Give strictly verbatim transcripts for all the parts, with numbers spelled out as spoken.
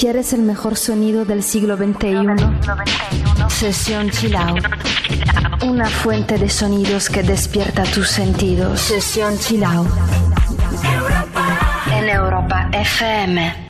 ¿Quieres el mejor sonido del siglo veintiuno? Sesión Chill Out. Una fuente de sonidos que despierta tus sentidos. Sesión Chill Out. En Europa F M.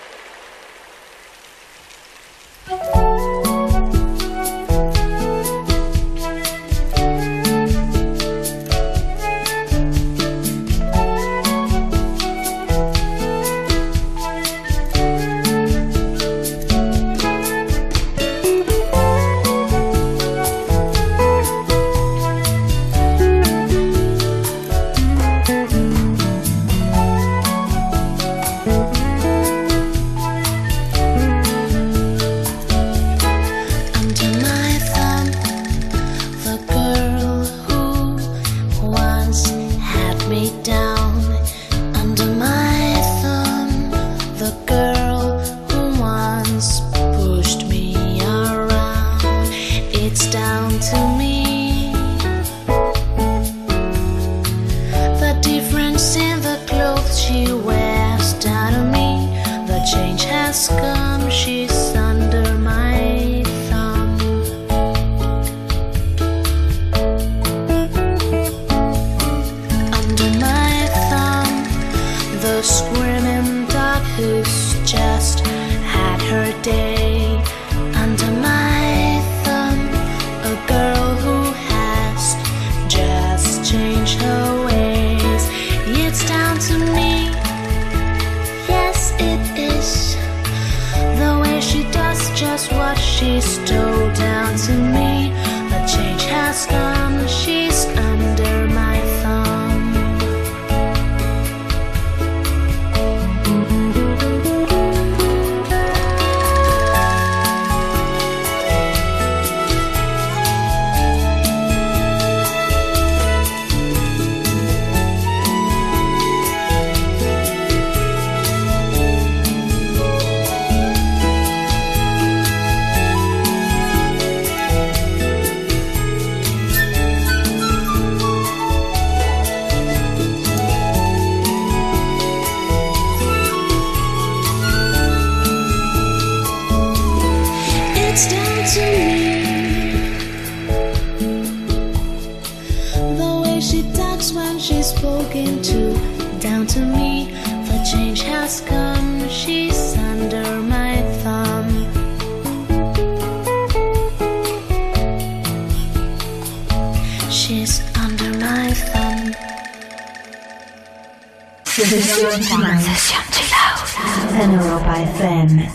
Sesión Chill Out en Europa F M.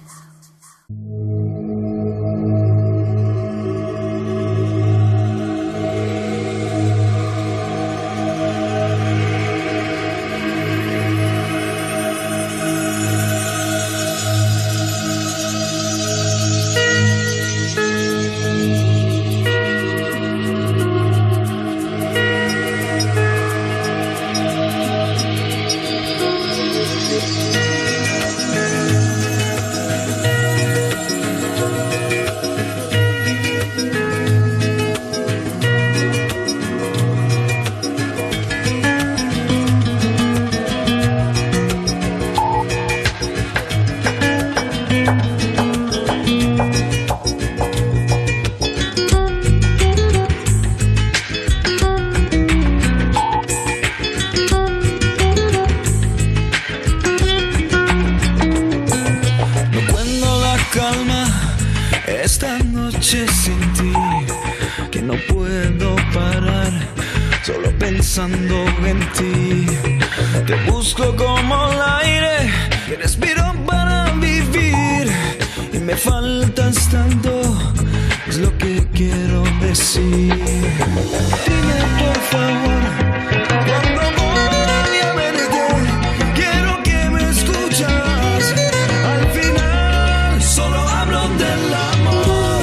En ti, te busco como el aire que respiro para vivir y me faltas tanto, es lo que quiero decir. Dime por favor, cuando voy a verte, quiero que me escuchas. Al final solo hablo del amor,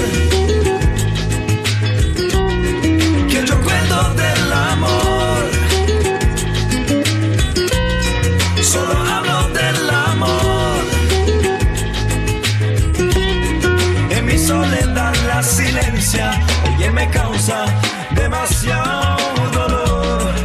que yo cuento del amor. Solo hablo del amor. En mi soledad la silencia, ella me causa demasiado dolor.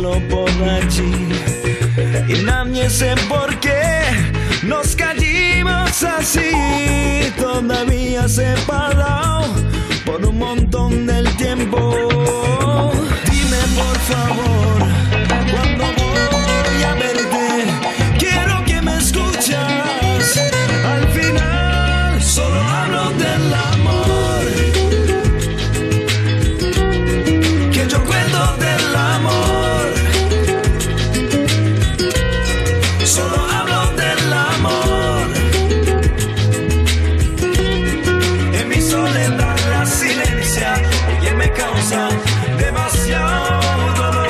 solo podarci. Innanzi perché nos caímos así, todavía separado por un montón del tiempo. Dime por favor, ¿cuándo voy a verte? Quiero que me escuchas. Al final solo hablo del amor, que yo cuento del amor. Solo hablo del amor. En mi soledad la silencia, ella me causa demasiado dolor.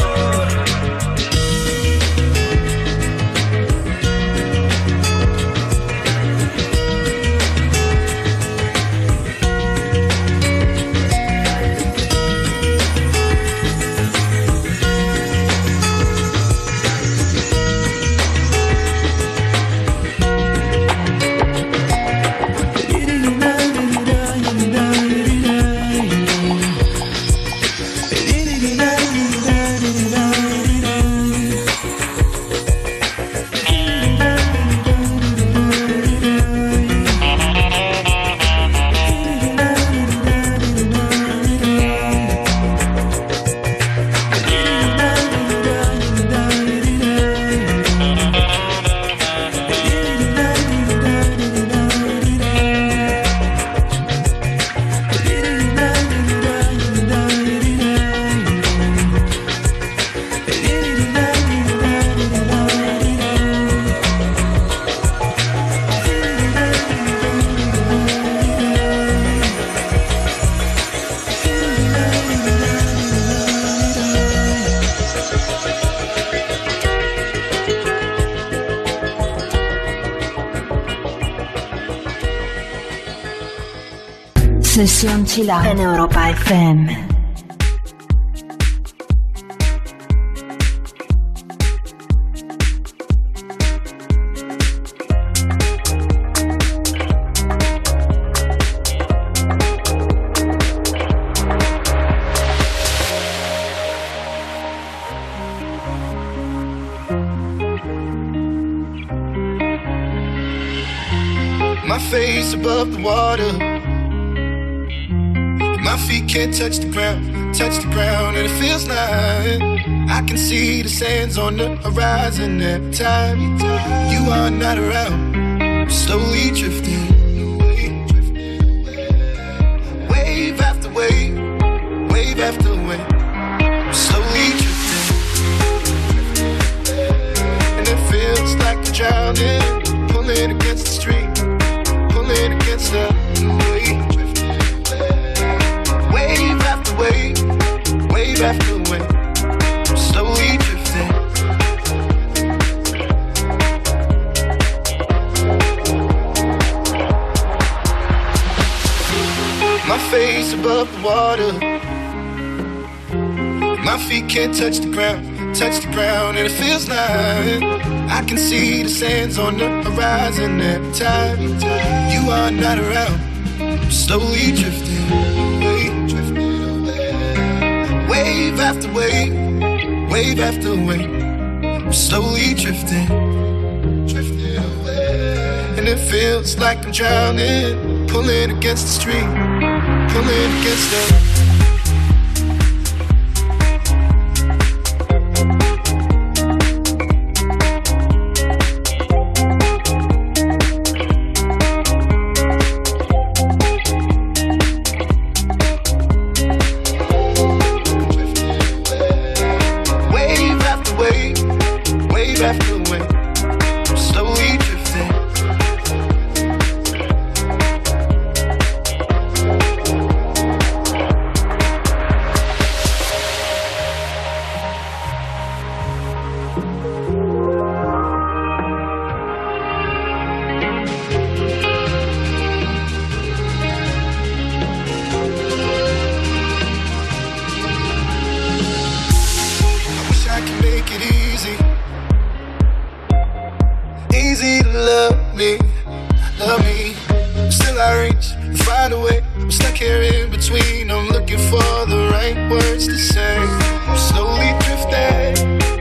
Sesión Chill Out en Europa F M. My face above the water, my feet can't touch the ground, touch the ground, and it feels like I can see the sands on the horizon every time you are not around. I'm slowly drifting away, wave after wave, wave after wave. I'm slowly drifting, and it feels like I'm drowning, pulling against the stream, pulling against the wave. Wave after wave, wave after wave, I'm slowly drifting. My face above the water, my feet can't touch the ground, touch the ground, and it feels like I can see the sands on the horizon every time you are not around. I'm slowly drifting away, drifting away. Wave after wave, wave after wave, I'm slowly drifting, drifting away. And it feels like I'm drowning, pulling against the stream, pulling against the for the right words to say. I'm slowly drifting.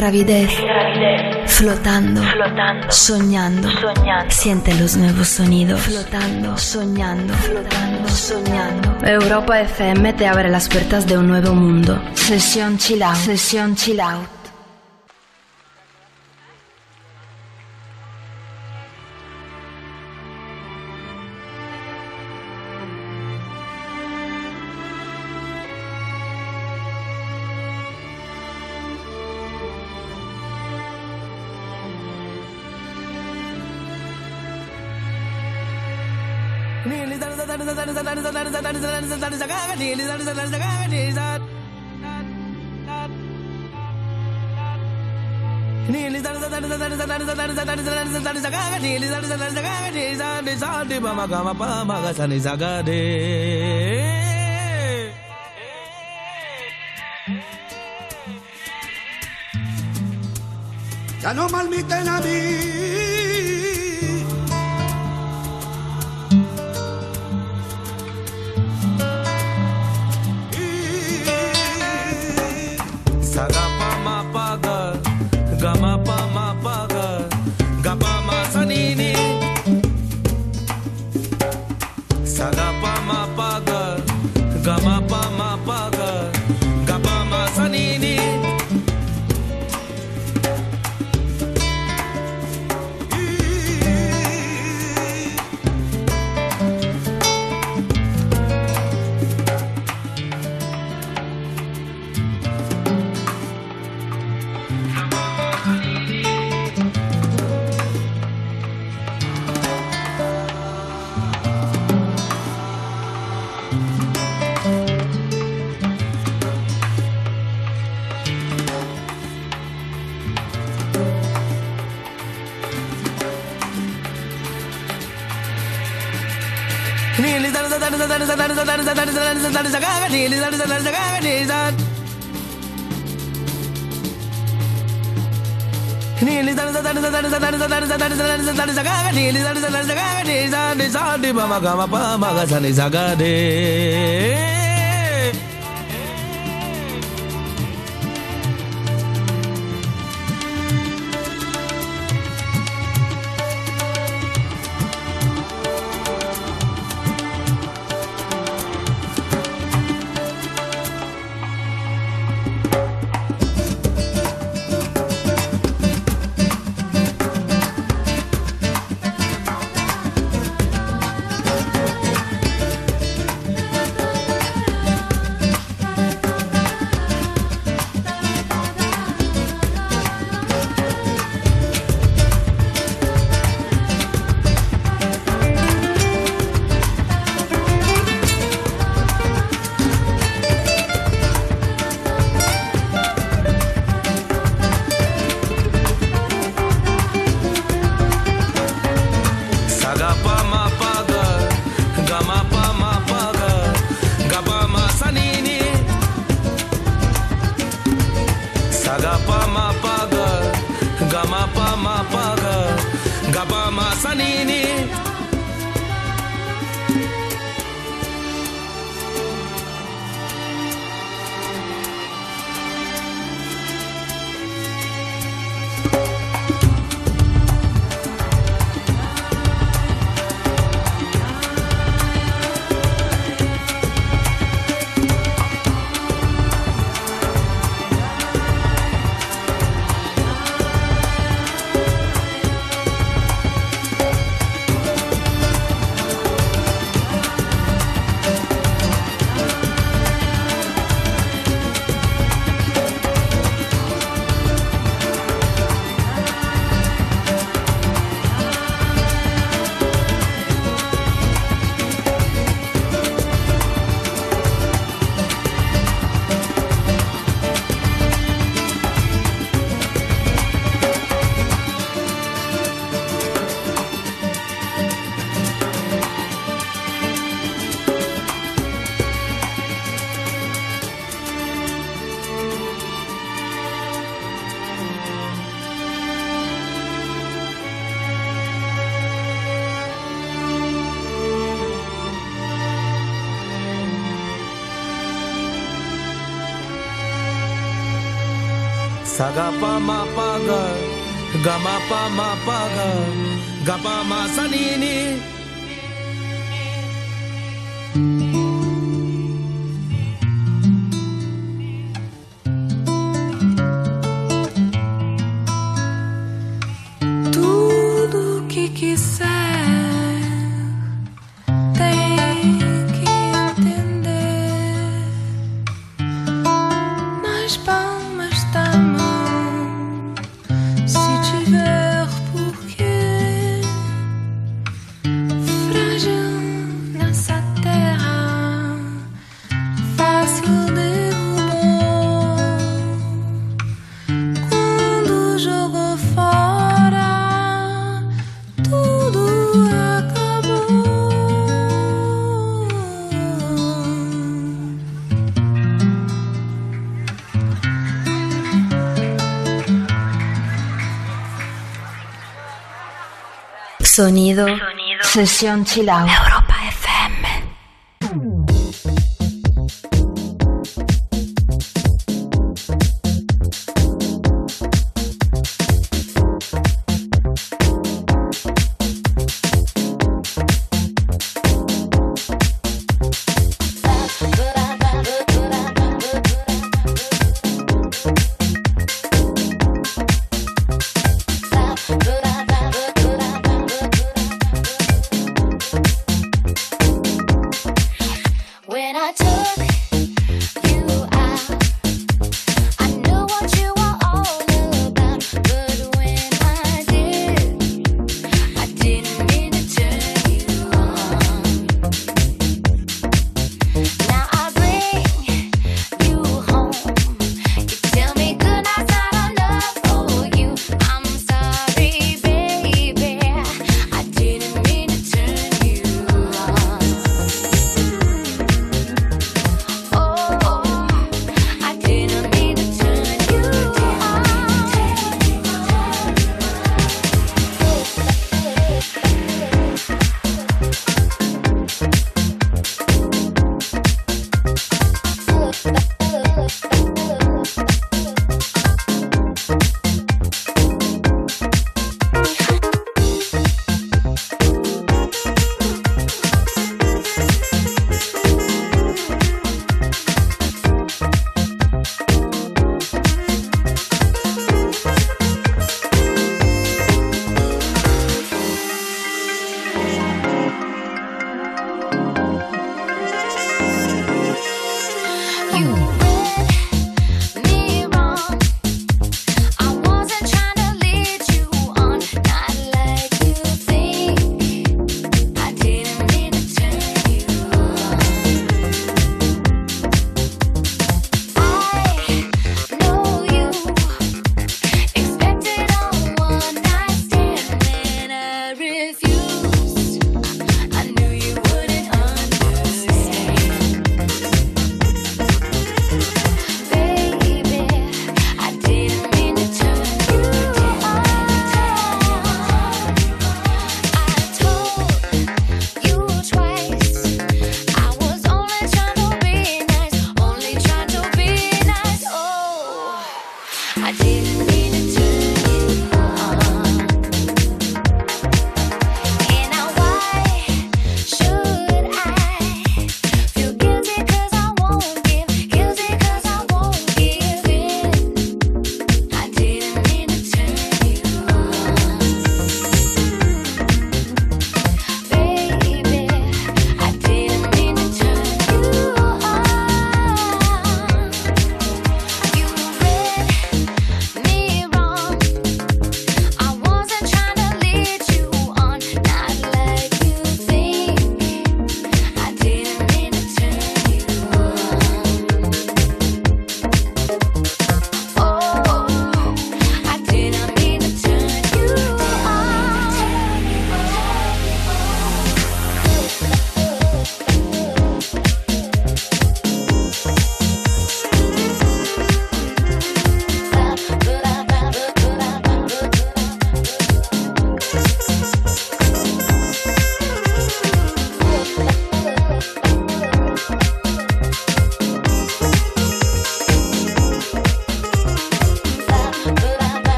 gravidez, flotando, soñando, siente los nuevos sonidos, flotando, soñando, flotando, soñando. Europa F M te abre las puertas de un nuevo mundo. Sesión Chill Out, Sesión Chill Out. Ya no malmiten a mí. Sagapa mapaga, gamapa mapaga, gapa masanini. Tudo que quiser tem que entender nas palmas da mão, se tiver porquê, frágil nessa terra, fácil derrubou quando jogou fora. Tudo acabou. Sonido, Sonido. Sesión Chill Out. Europa F M.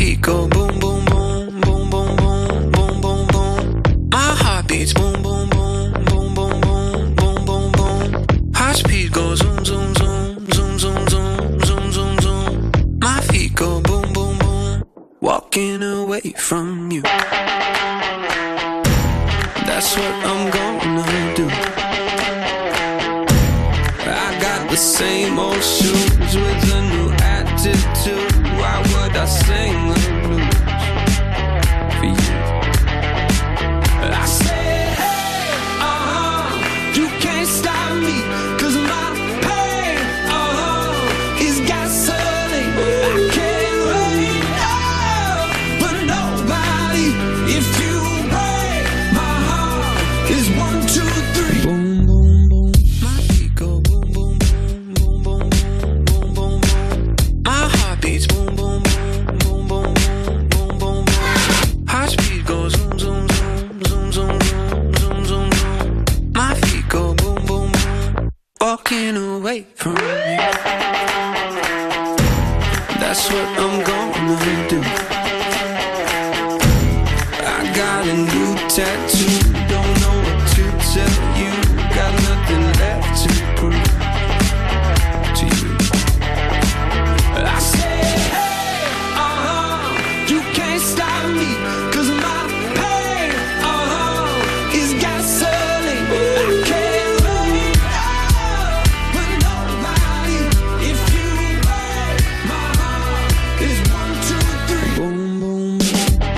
feet go boom, boom, boom, boom, boom, boom, boom, boom, boom. My heart beats boom, boom, boom, boom, boom, boom, boom, boom, boom. High speed goes zoom, zoom, zoom, zoom, zoom, zoom, zoom, zoom, zoom. My feet go boom, boom, boom. Walking away from you. That's what I'm gonna do. I got the same old shoes with a new attitude. Why would I sing the blues for you? I said, hey, uh-huh, you can't stop me, 'cause my pain, uh-huh, is gasoline. I can't wait, oh, but nobody, if you break my heart, is one, two, three. Boom, boom, boom. My feet go boom, boom, boom, boom, boom, boom, boom, boom, boom. My heart beats boom, boom, boom, boom, boom, boom, boom, boom, boom. High speed goes zoom, zoom, zoom, zoom, zoom, zoom, zoom, zoom, zoom. My feet go boom, boom, boom. Walking away from you. That's what I'm gonna do. I got a new tattoo. Don't know what to tell you. Got nothing left to prove to you. I said, hey, uh-huh, you can't stop me, 'cause my pain, uh-huh, is gasoline. I can't wait, oh, but nobody, if you break my heart, is one, two, three. Boom, boom, boom.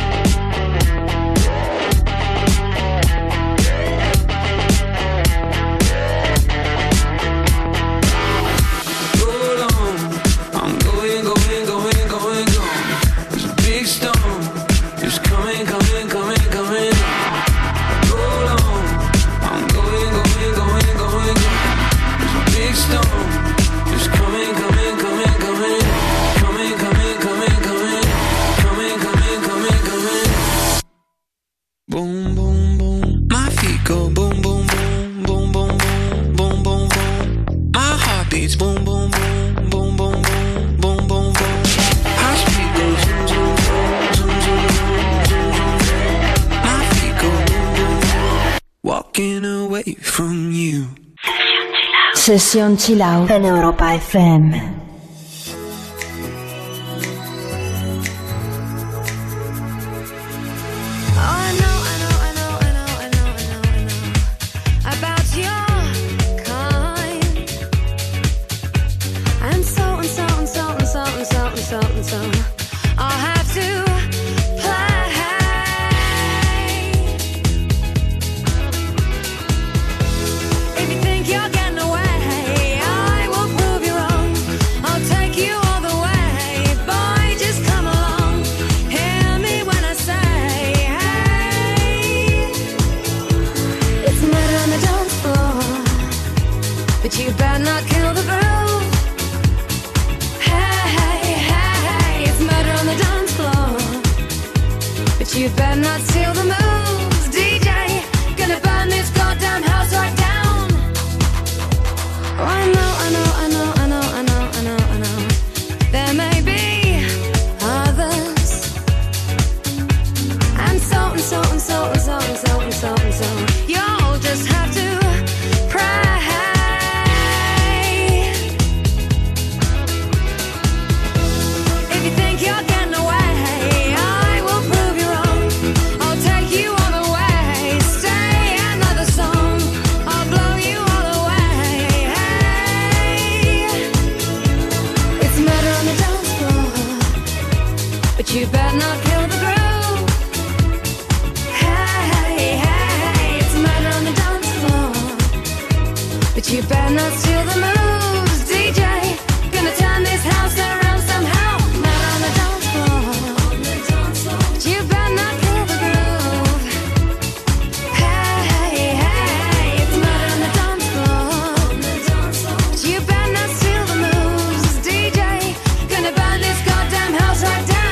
Hold on, I'm going, going, going, going, going. There's a big storm, it's coming, coming, coming, coming. Hold on, I'm going, going, going, going, going. There's a big storm, it's coming, coming, coming, coming. Coming, coming, coming, coming. Coming, coming, coming, coming. Boom, boom, boom. My feet go boom, boom, boom, boom, boom, boom, boom, boom, boom. My heart beats boom, boom, boom, boom, boom, boom, boom, boom, boom. High speed goes zoom, zoom, zoom, zoom, zoom, zoom, zoom, zoom. My feet go boom, boom, boom. Walking away from you. Sesión Chill Out en Europa F M. Oh, I know, I know, I know, I know, I know, I know, I know about your kind. And so and so and so and so and so and so and so I'll have to play. If you think you're getting away, I will prove you wrong. I'll take you all the way. Boy, just come along. Hear me when I say, hey, it's murder on the dance floor, but you better not kill the groove. Hey, hey, hey, hey, it's murder on the dance floor, but you better not steal the moves. D J, gonna burn this goddamn house right down. Oh, I know, I know, I know, I know, I know, I know, I know. There may be others, and so and so and so and so and so and so and so. You'll just have to pray. If you think you're getting away, I will prove you wrong. I'll take you all the way. Stay another song, I'll blow you all away. Hey, it's murder on the dance floor, but you better not kill the groove. Hey, hey, hey, it's murder on the dance floor, but you better not steal the moves. D J, gonna turn this house around somehow. Murder on the dance floor, but you better not kill the groove. Hey, hey, hey, it's murder on the dance floor, but you better not steal the moves. D J, gonna burn this goddamn house right down.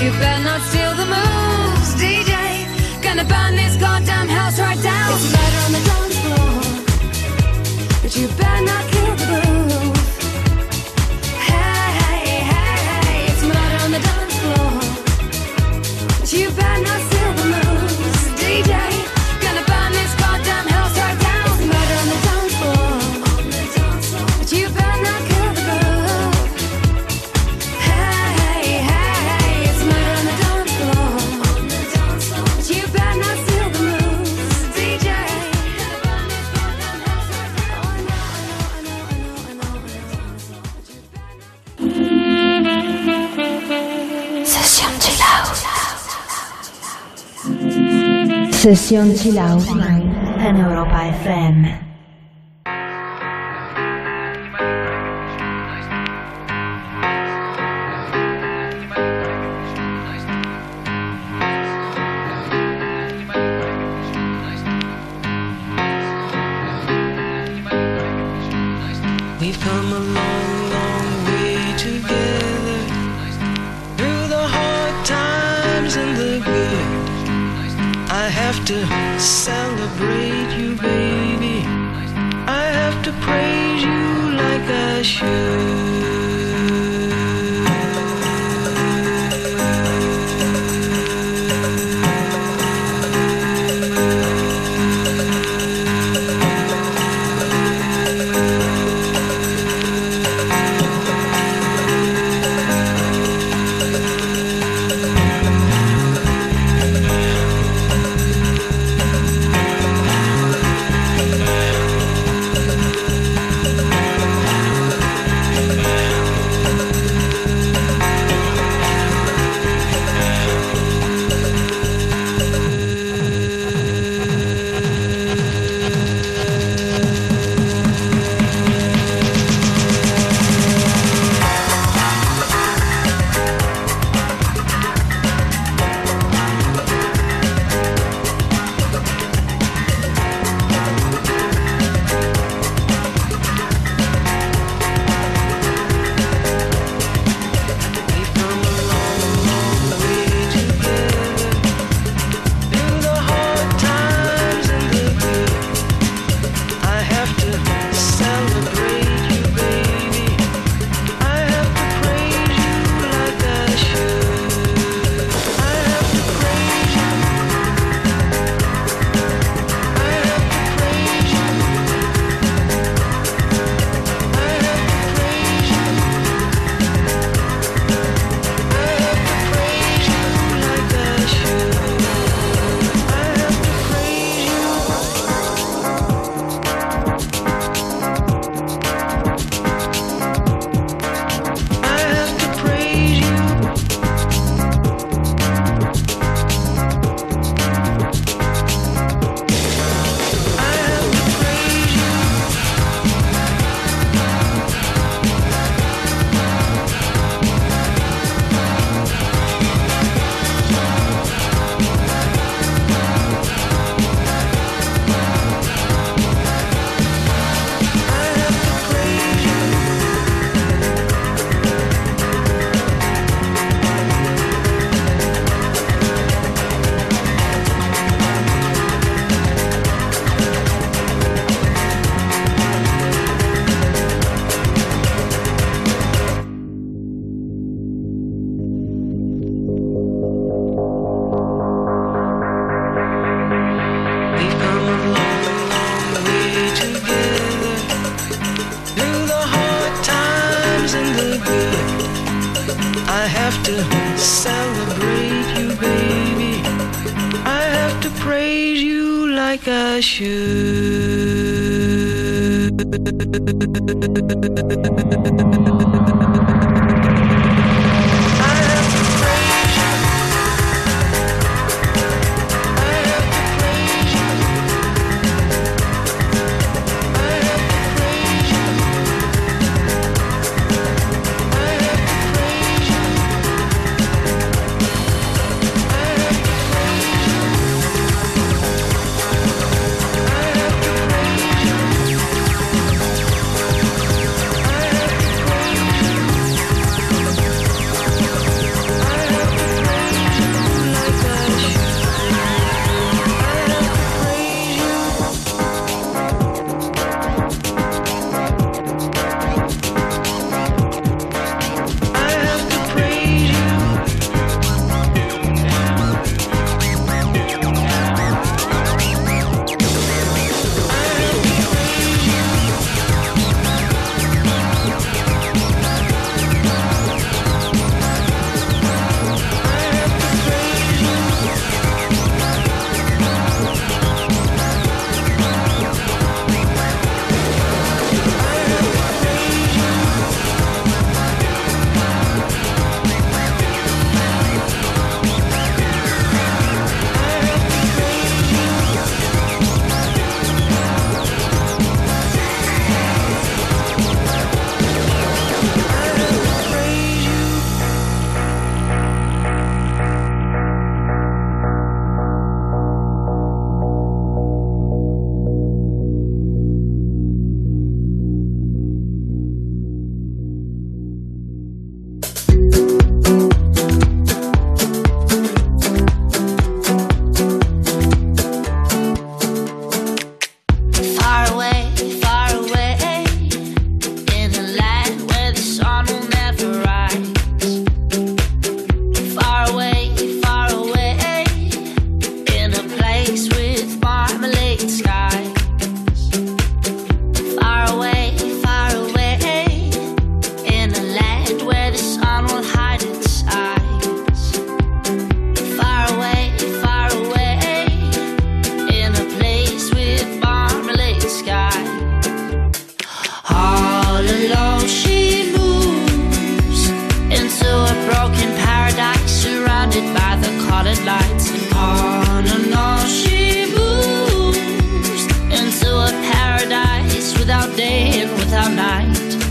you better not steal the moves, D J. Gonna burn this goddamn house right down. It's murder on the dance floor, but you better not kill the groove. Hey, hey, hey, hey, it's murder on the dance floor, but you better not steal the moves, D J. Gonna burn this goddamn house right down. It's murder on the dance floor, but you better not kill the groove. Hey, hey, hey, it's murder on the dance floor, but you better not steal the moves, D J. Session Chill Out. Session Chill Out en Europa F M. We've come a long, long way together, through the hard times and the good. I have to celebrate you, baby. I have to praise you like I should. I have to celebrate you, baby. I have to praise you like I should. colored lights. On and on she moves into a paradise without day and without night.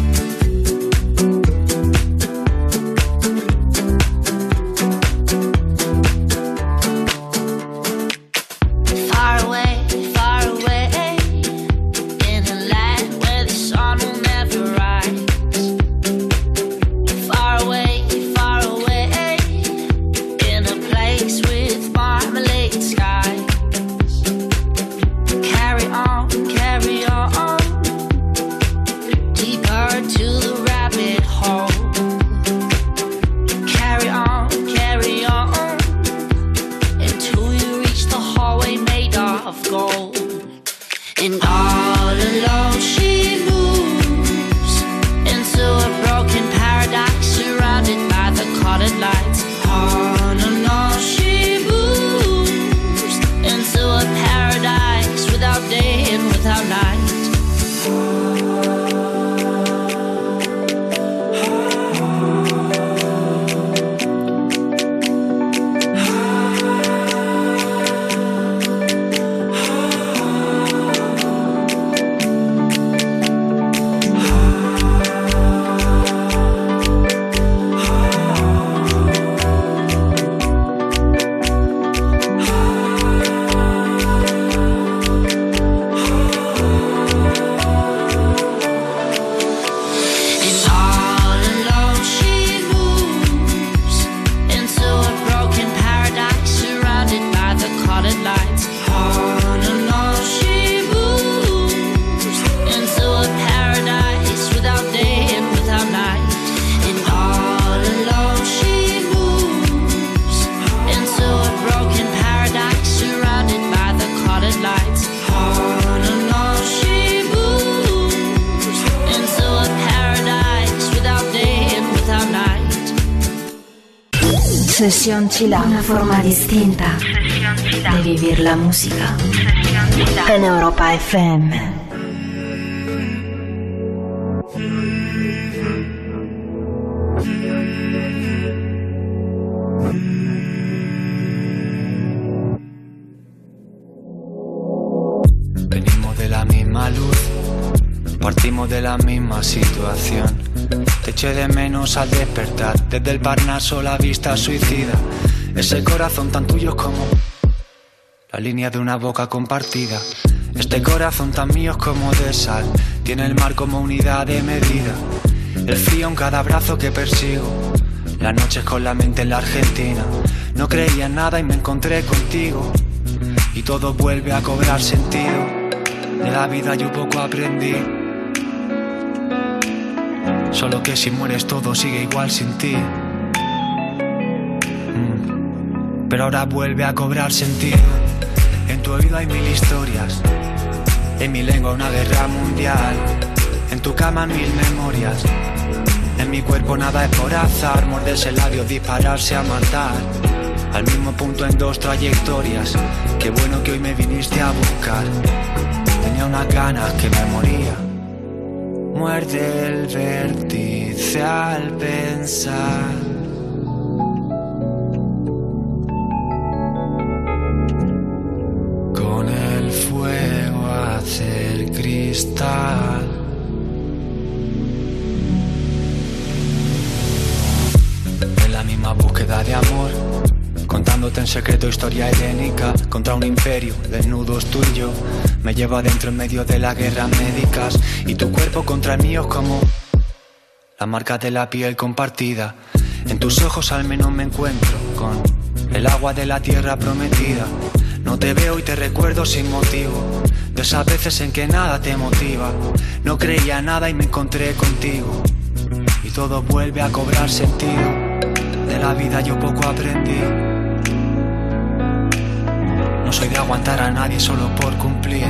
Sesión Chill Out, una forma distinta de vivir la música en Europa F M. Venimos de la misma luz, partimos de la misma situación. Te eché de menos al despertar, desde el Parnaso la vista suicida. Ese corazón tan tuyo como la línea de una boca compartida. Este corazón tan mío como de sal, tiene el mar como unidad de medida. El frío en cada brazo que persigo, las noches con la mente en la Argentina. No creía en nada y me encontré contigo, y todo vuelve a cobrar sentido. De la vida yo poco aprendí, solo que si mueres todo sigue igual sin ti. mm. Pero ahora vuelve a cobrar sentido. En tu oído hay mil historias, en mi lengua una guerra mundial, en tu cama mil memorias, en mi cuerpo nada es por azar. Morderse el labio, dispararse a matar, al mismo punto en dos trayectorias. Qué bueno que hoy me viniste a buscar, tenía unas ganas que me moría. Muerde el vértice al pensar, con el fuego hacer cristal. En la misma búsqueda de amor, contándote en secreto historia helénica contra un imperio, desnudos tú y yo. Me llevo adentro en medio de las guerras médicas, y tu cuerpo contra el mío es como la marca de la piel compartida. En tus ojos al menos me encuentro con el agua de la tierra prometida. No te veo y te recuerdo sin motivo, de esas veces en que nada te motiva. No creía nada y me encontré contigo, y todo vuelve a cobrar sentido. De la vida yo poco aprendí, no soy de aguantar a nadie solo por cumplir.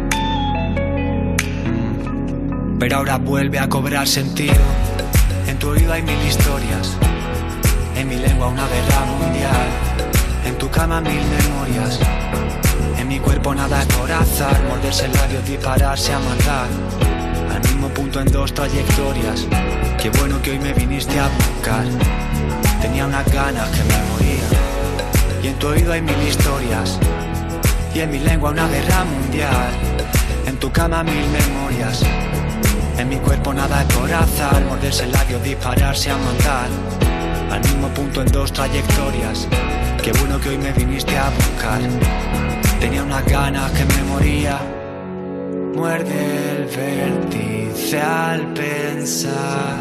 mm. Pero ahora vuelve a cobrar sentido. En tu oído hay mil historias, en mi lengua una guerra mundial, en tu cama mil memorias, en mi cuerpo nada es por azar. Morderse el labio, dispararse a matar, al mismo punto en dos trayectorias. Qué bueno que hoy me viniste a buscar, tenía unas ganas que me moría. Y en tu oído hay mil historias, y en mi lengua una guerra mundial. En tu cama mil memorias, en mi cuerpo nada es por azar. Morderse el labio, dispararse a matar, al mismo punto en dos trayectorias. Qué bueno que hoy me viniste a buscar. Tenía unas ganas que me moría. Muerde el vértice al pensar.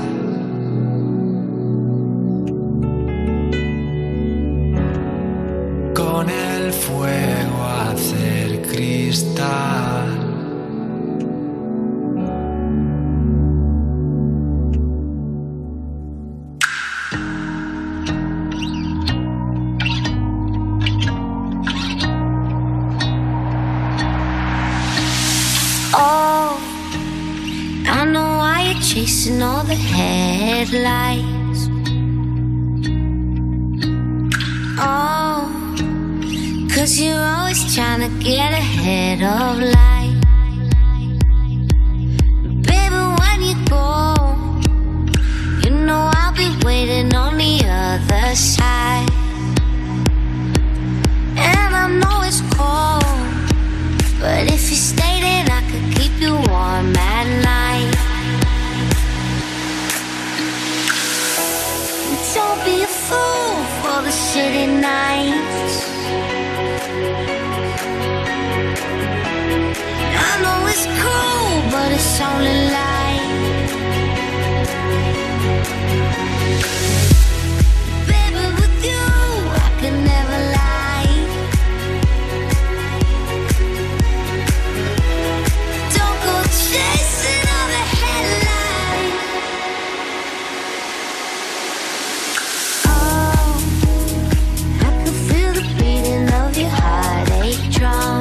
Con el fuego hacer cristal. Oh, I know why you're chasing all the headlights. Oh, 'cause you're always trying to get ahead of life. Baby, when you go, you know I'll be waiting on the other side. And I know it's cold, but if you stay, then I could keep you warm at night. Don't be a fool for the city nights. I know it's cool, but it's only light. Baby, with you, I can never lie. Don't go chasing all the headlights. Oh, I can feel the beating of your heartache drum.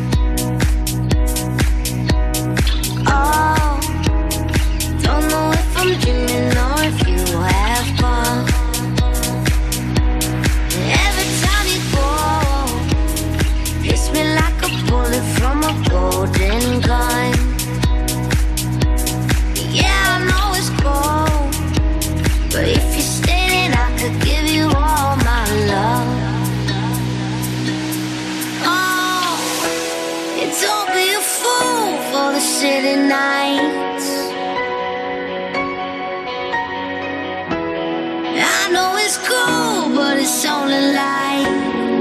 Oh, don't know if I'm dreaming or if you have fun. Every time you go, hits me like a bullet from a golden gun. Yeah, I know it's cold, but if you stay, then I could give you all my love. Oh, and don't be a fool for the city nights. I know it's cool, but it's only light.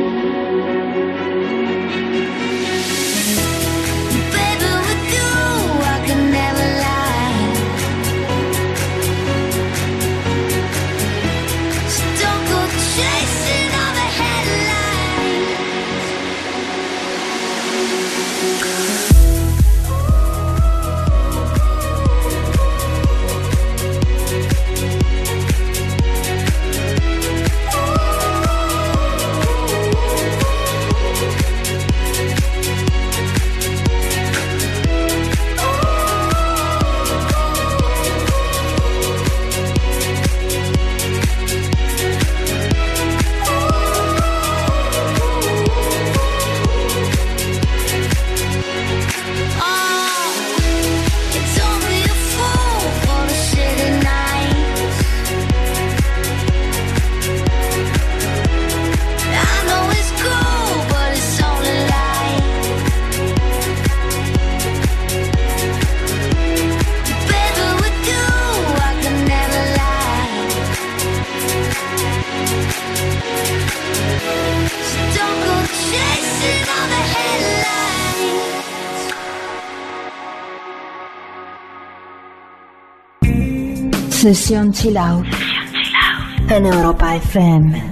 Baby, with you, I can never lie. So don't go chasing all the headlights. Sesión Chill Out en Europa F M.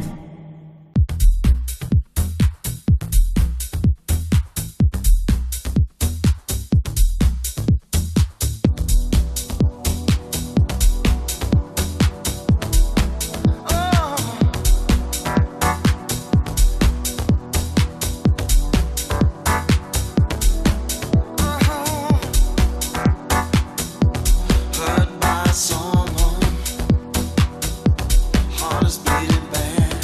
Heard my song on, heart is beating bad.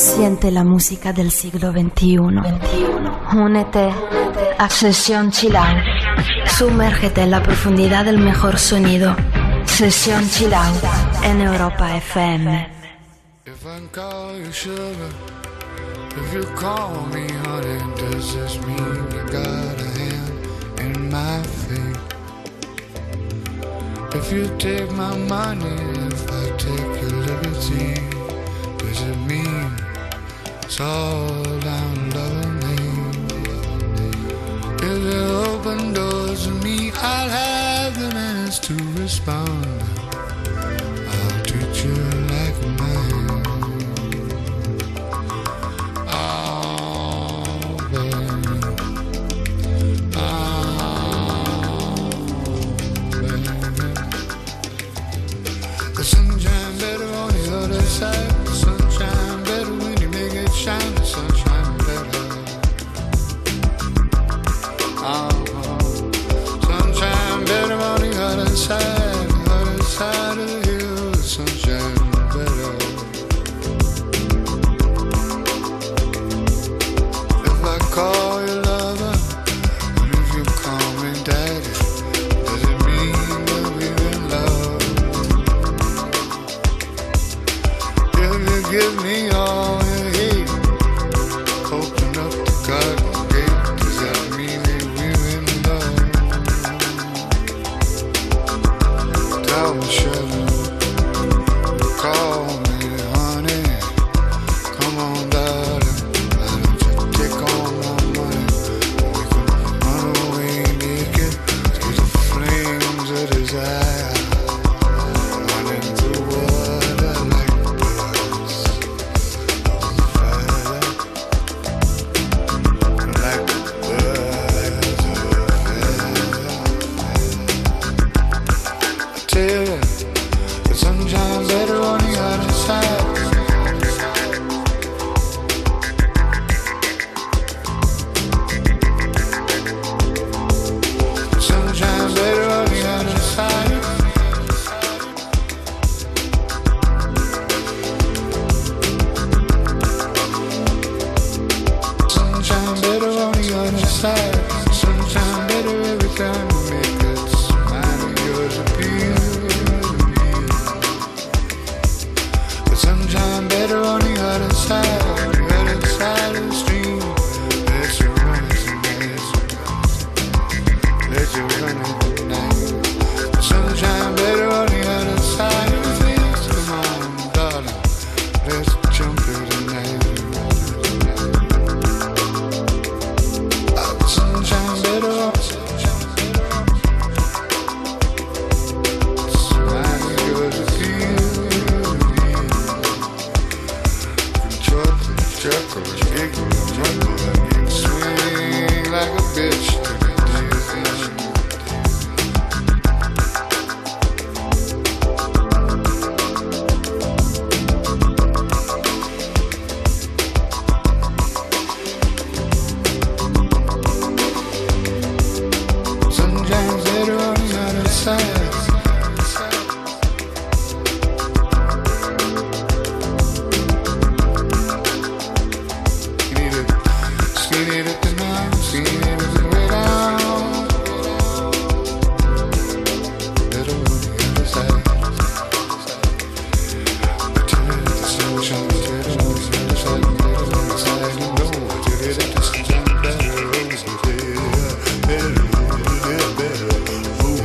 Siente la música del siglo veintiuno. Únete a Sesión Chill Out. Sumérgete en la profundidad del mejor sonido. Sesión Chill Out en Europa F M. If I call you sugar, if you call me honey, does this mean you got a hand in my fate? If you take my money, if I take your liberty, does it mean it's all down love me? If you open doors to me, I'll have the manners to respond. I'll treat you like a man. Oh, baby. Oh, baby. The sunshine better on the other side. The sunshine better when you make it shine. The sunshine better. Oh, sunshine better on the other side. The other side of the hill. The sunshine better. If I call you lover, and if you call me daddy, does it mean that we're in love? If you give me all you hate, open up the garden gate, does that mean that we're in love? Tell me, sugar, call me honey, come on darling, why don't you take all my money? We can run away naked to the flames of desire, running through water like birds on fire, like birds of fire. I tell you, the sunshine's better on the other side. The sunshine's better on the other side. Sunshine better on the other side. Sunshine better every time you make it smile of yours appear. The sunshine better on the other side, the other side of the stream. Let you run it tonight, let you run it tonight. The sunshine better on the other side of the things. Come on, darling, let's jump it tonight. Ah, the sunshine better on. Smile of yours appear. Chuckle, giggle, juggle, and swing like a bitch to the dizzy. Sunshine's better on the other side. Seen it at the night, seen it at the way down. Better on the other side. Till it at the sunshine, better on the other side, better on the side. You know, till it at the sunshine, better on the other side. Better, better, better. Ooh.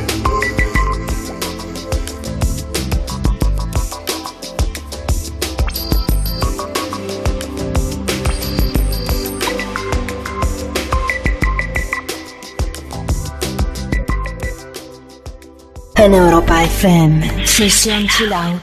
En Europa F M, Sesión Chill Out.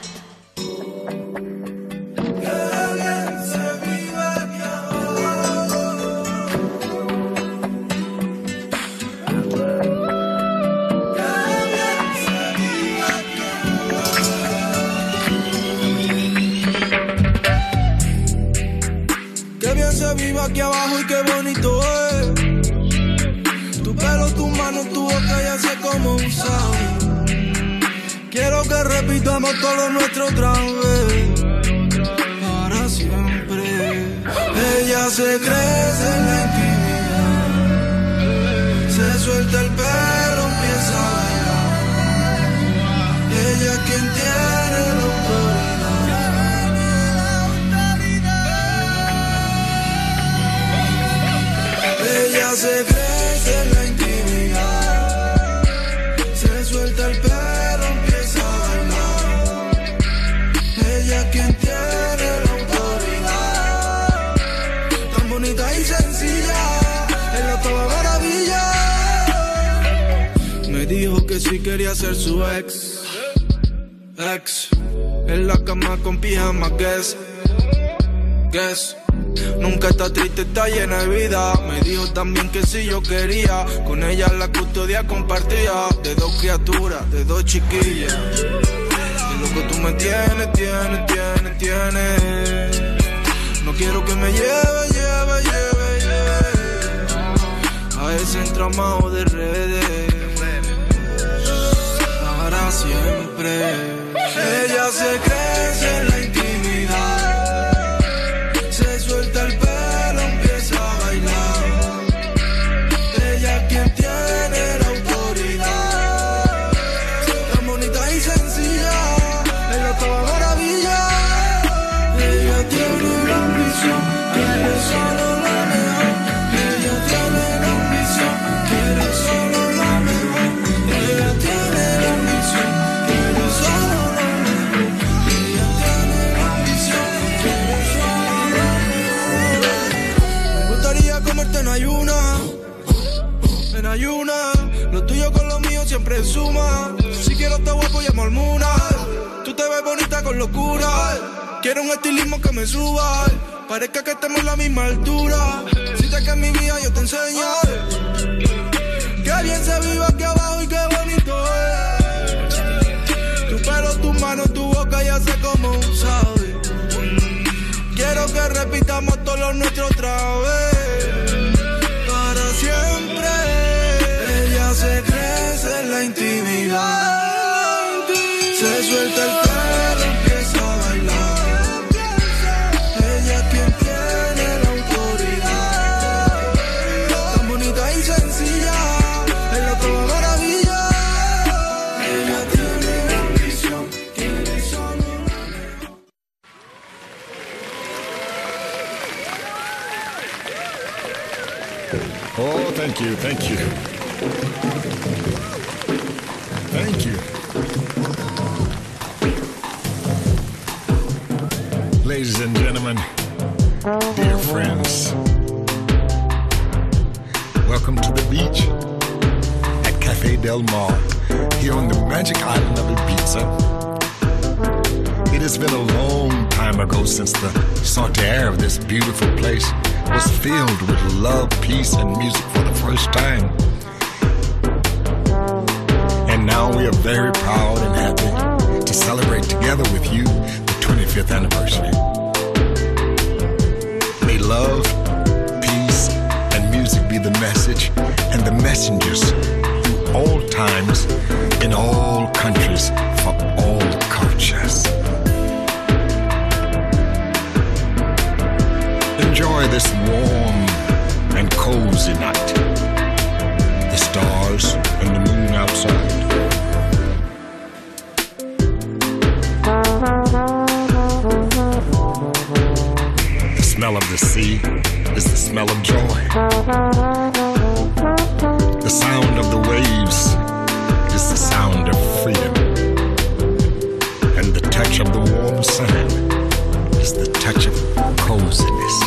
Qué bien se vive aquí abajo y qué bonito es. Tu pelo, tu mano, tu boca ya sé cómo usar. Quiero que repitamos todo nuestro otra vez, para siempre. Ella se crece en la intimidad, se suelta el perro, empieza a bailar. Ella es quien tiene la autoridad. Ella se crece en la intimidad, se suelta el perro, empieza a bailar. Ella es quien tiene la autoridad. Tan bonita y sencilla, es la toda maravilla. Me dijo que sí quería ser su ex. Ex, en la cama con pijama, guess, guess. Nunca está triste, está llena de vida. Me dijo también que si yo quería con ella la custodia compartía de dos criaturas, de dos chiquillas. Y loco tú me tienes, tienes, tienes, tienes. No quiero que me lleve, lleve, lleve, lleve a ese entramado de redes para siempre. Ella se crece en la intimidad, se suelta el pelo, empieza a bailar. Ella es quien tiene la autoridad. Tan bonita y sencilla, es la toda maravilla. Ella tiene la ambición, quiere solo lo mejor. Ella tiene la ambición, quiere solo lo mejor. Ella tiene la ambición, quiere solo lo mejor. Ella tiene la ambición, quiere solo lo mejor. Me gustaría comerte en ayuna, en ayuna. Lo tuyo con lo mío siempre suma. Si quiero estar guapo llamo al Muna. Tú te ves bonita con locura. Quiero un estilismo que me suba, parezca que estemos en la misma altura. Si te que en mi vida yo te enseño que bien se vive aquí abajo y qué bonito es. Tu pelo, tus manos, tu boca, ya sé cómo sabes. Quiero que repitamos todo lo nuestro otra vez, para siempre. Ella se crece en la intimidad, se suelta el pelo, empieza a bailar. Ella es quien tiene la autoridad. Tan bonita y sencilla, es la toda maravilla. Ella tiene la ambición, quiere solo lo mejor. Oh, thank you, thank you. Thank you. Ladies and gentlemen, dear friends, welcome to the beach at Cafe Del Mar, here on the magic island of Ibiza. It has been a long time ago since the salty air of this beautiful place was filled with love, peace, and music for the first time. And now we are very proud and happy to celebrate together with you the twenty-fifth anniversary. May love, peace, and music be the message and the messengers through all times, in all countries, for all cultures. Enjoy this warm and cozy night. The stars and the moon outside. The smell of the sea is the smell of joy. The sound of the waves is the sound of freedom. And the touch of the warm sun is the touch of coziness.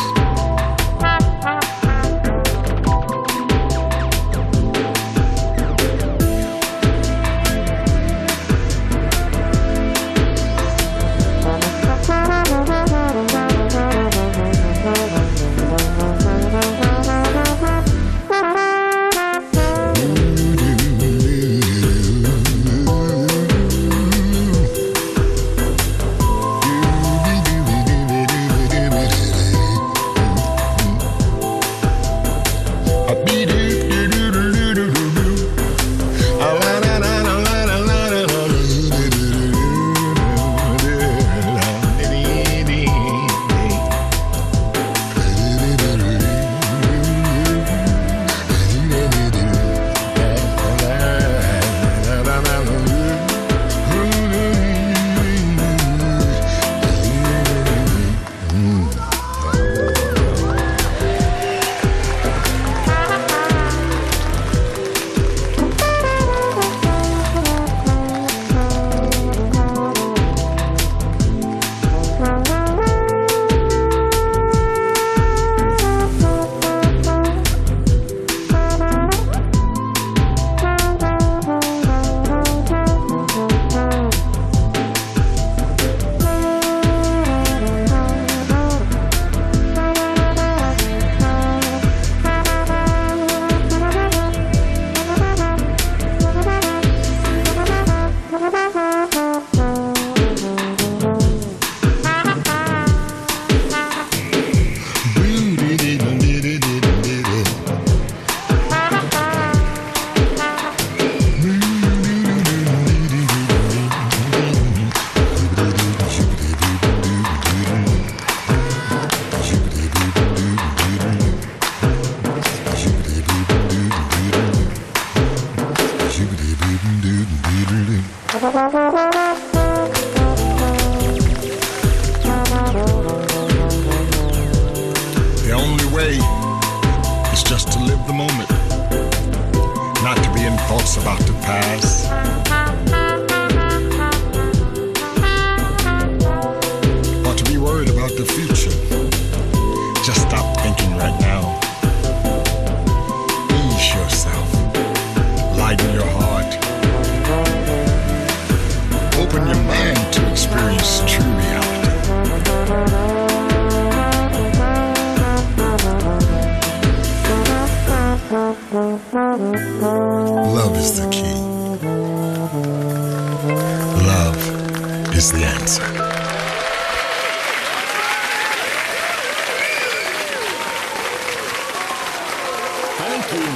Thank you.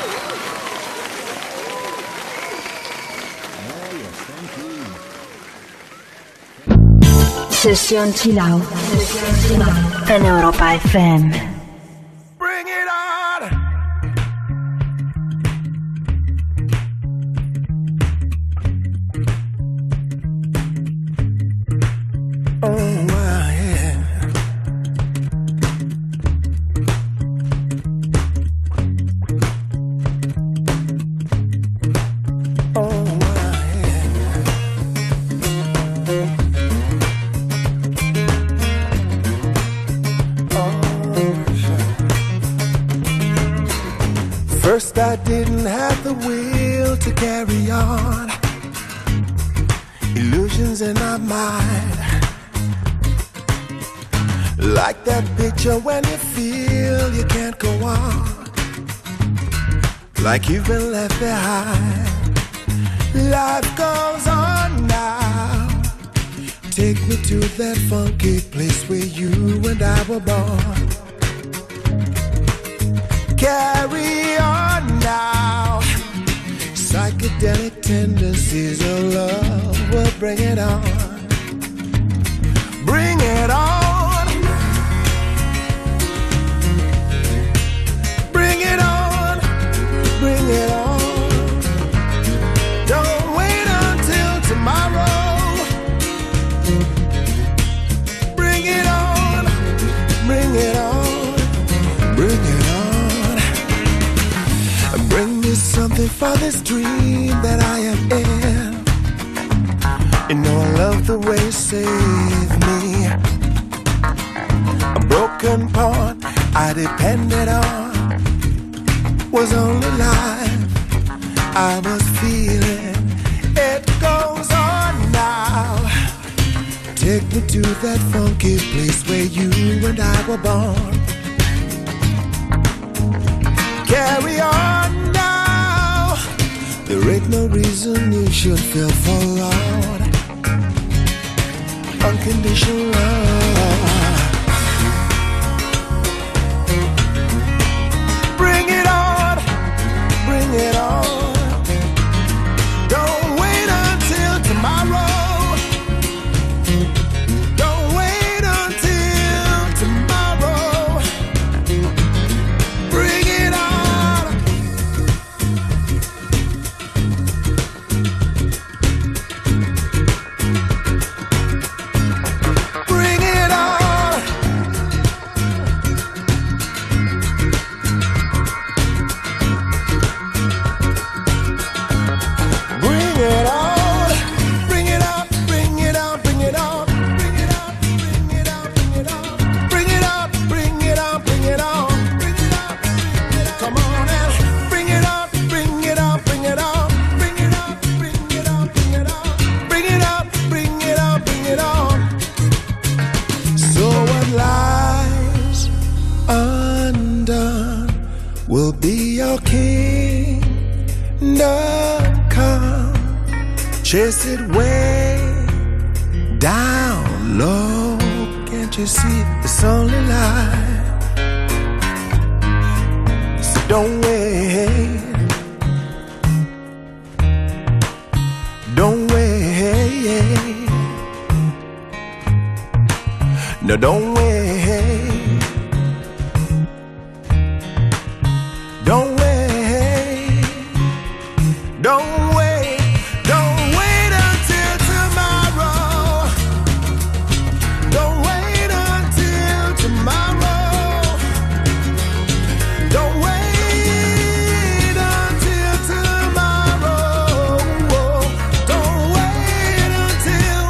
Sesión Chill Out en Europa F M. Bring it on. Oh, wow, yeah. Oh, wow, yeah. First I didn't have the will to carry on. Illusions in my mind. Like that picture when you feel you can't go on. Like you've been left behind. Life goes on now. Take me to that funky place where you and I were born. Carry on now. Psychedelic tendencies of love will bring it on. Bring it on. Bring it on. Bring it on. Don't wait until tomorrow. Bring it on. Bring it on. Bring it on. Bring me something for this dream that I am in. You know I love the way you save me. A broken pawn I depended on was only life I was feeling. It goes on now. Take me to that funky place where you and I were born. Carry on now. There ain't no reason you should feel forlorn. Unconditional love. Bring it on. Bring it on. Don't wait until tomorrow. Don't wait until tomorrow. Bring it on. Bring it on. Bring it on. Bring it up. Bring it up. Bring it on. Bring it up. Bring it up. Bring it on. Bring it up. Bring it up. Bring it on. Bring it up. Come on and bring it up. Bring it up. Bring it on. Bring it up. Bring it up. Bring it on. Bring it up. Bring it up. Bring it on. So what lies undone will be your kingdom come. Chase it way down low. Can't you see it's only life? So don't wait. Don't wait. No, don't wait. Don't wait. Don't wait. Don't wait until tomorrow. Don't wait until tomorrow. Don't wait until tomorrow. Don't wait until.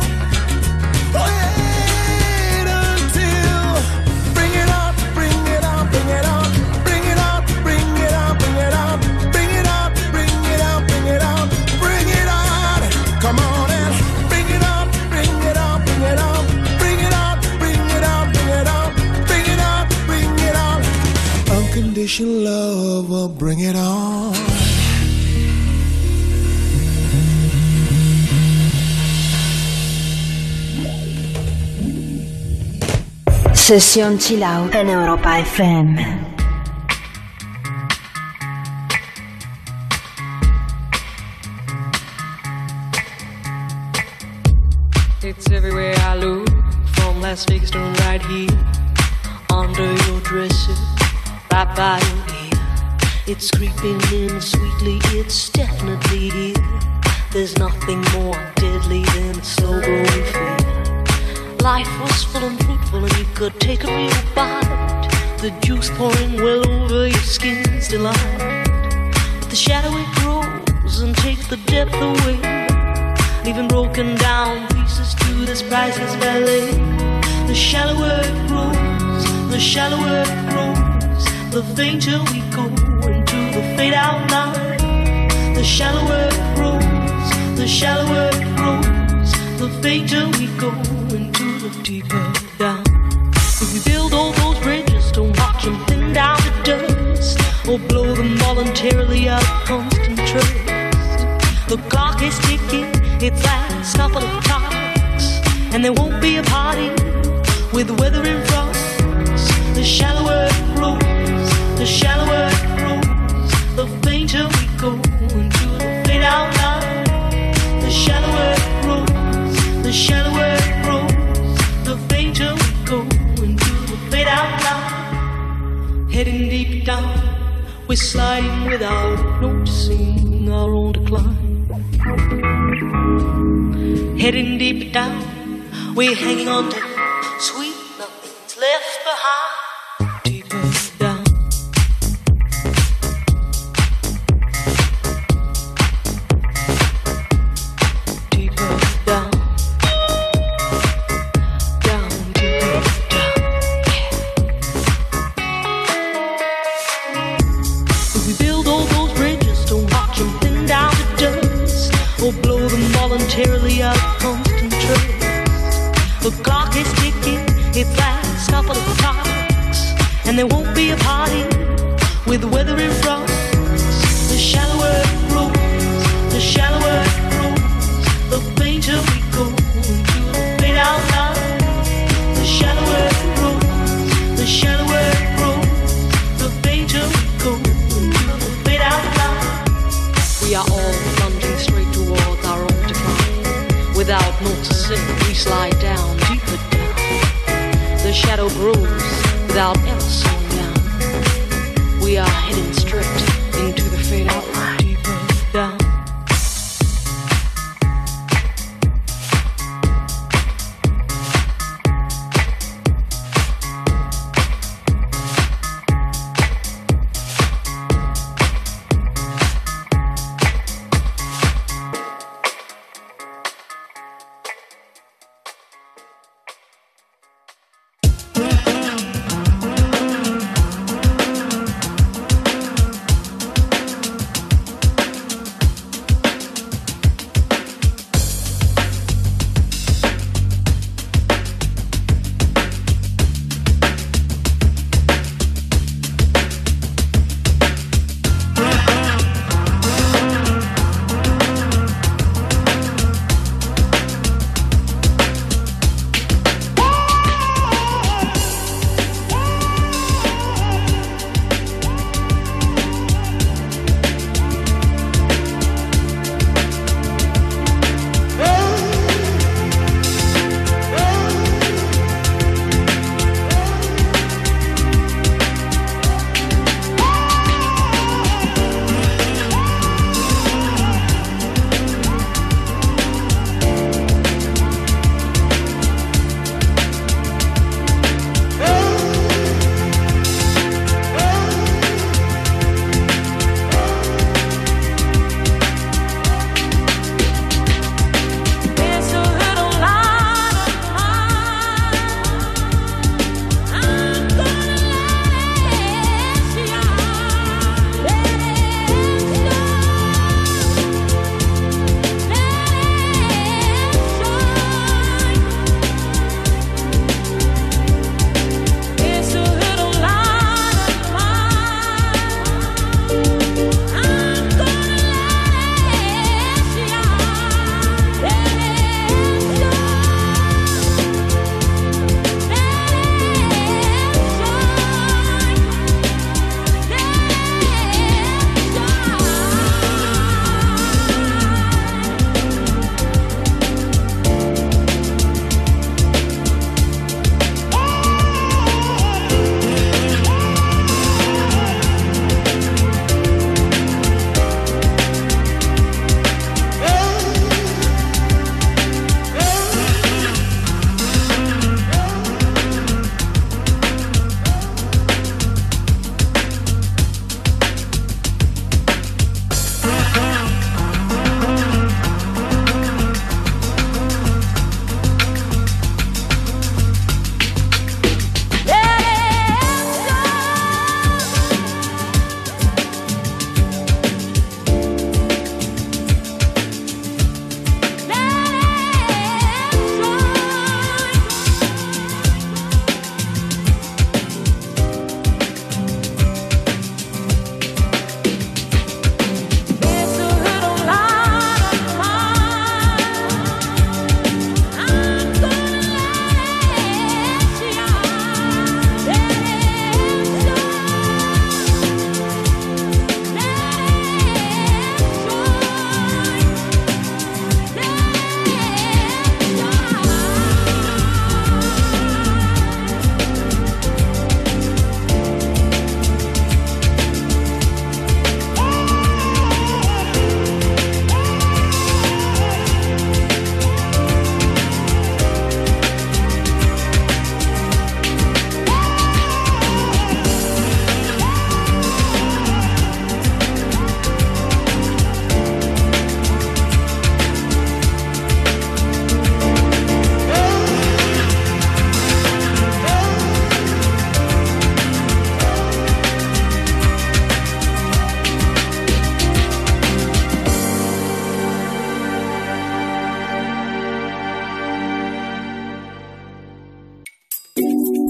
Wait until. Bring it up, bring it up, bring it up, bring it up, bring it up, bring it up, bring it up, bring it up, bring it up, bring it on. Come on and bring it up, bring it up, bring it up, bring it up, bring it up, bring it up, bring it up, bring it up. Unconditional love will bring it on. Sesión Chill Out en Europa F M. It's everywhere I look, from Las Vegas to right here, under your dresser, right by your ear. It's creeping in sweetly, it's definitely here. There's nothing more deadly than a slow growing fear. Life was full and fruitful and you could take a real bite. The juice pouring well over your skin's delight. But the shadow it grows and takes the depth away, leaving broken down pieces to this priceless ballet. The shallower it grows, the shallower it grows, the fainter we go into the fade out line. The shallower it grows, the shallower it grows, the fainter we go into the deeper down. If we build all those bridges, don't watch them thin down to dust, or blow them voluntarily out of constant trust. The clock is ticking, its last couple of clocks, and there won't be a party with weather in front. The shallower it grows, the shallower it grows, the fainter we go into the fade out line. The shallower it grows, the shallower it grows, the fainter we go into the fade out line. Heading deep down, we're sliding without noticing our own decline. Heading deep down, we're hanging on to sweet nothing's left behind. Deeper down. Deeper down. Down, deeper down. If we build all those bridges, don't watch them thin down to dust, or blow them voluntarily out of constant trust. The clock is ticking, its last couple of clocks, and there won't be a party with the weather in front. The shallower it grows, the shallower it grows, the fainter we go into the fade out line. The shallower it grows, the shallower it grows, the fainter we go into the fade out line. We are all plunging straight towards our own decline. Without noticing, we slide down, deeper down. The shadow grows without ever slowing down. We are heading straight into the fade out line. Deeper down.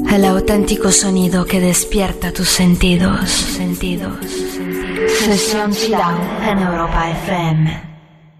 El auténtico sonido que despierta tus sentidos. sentidos. Sesión Chill Out en Europa F M.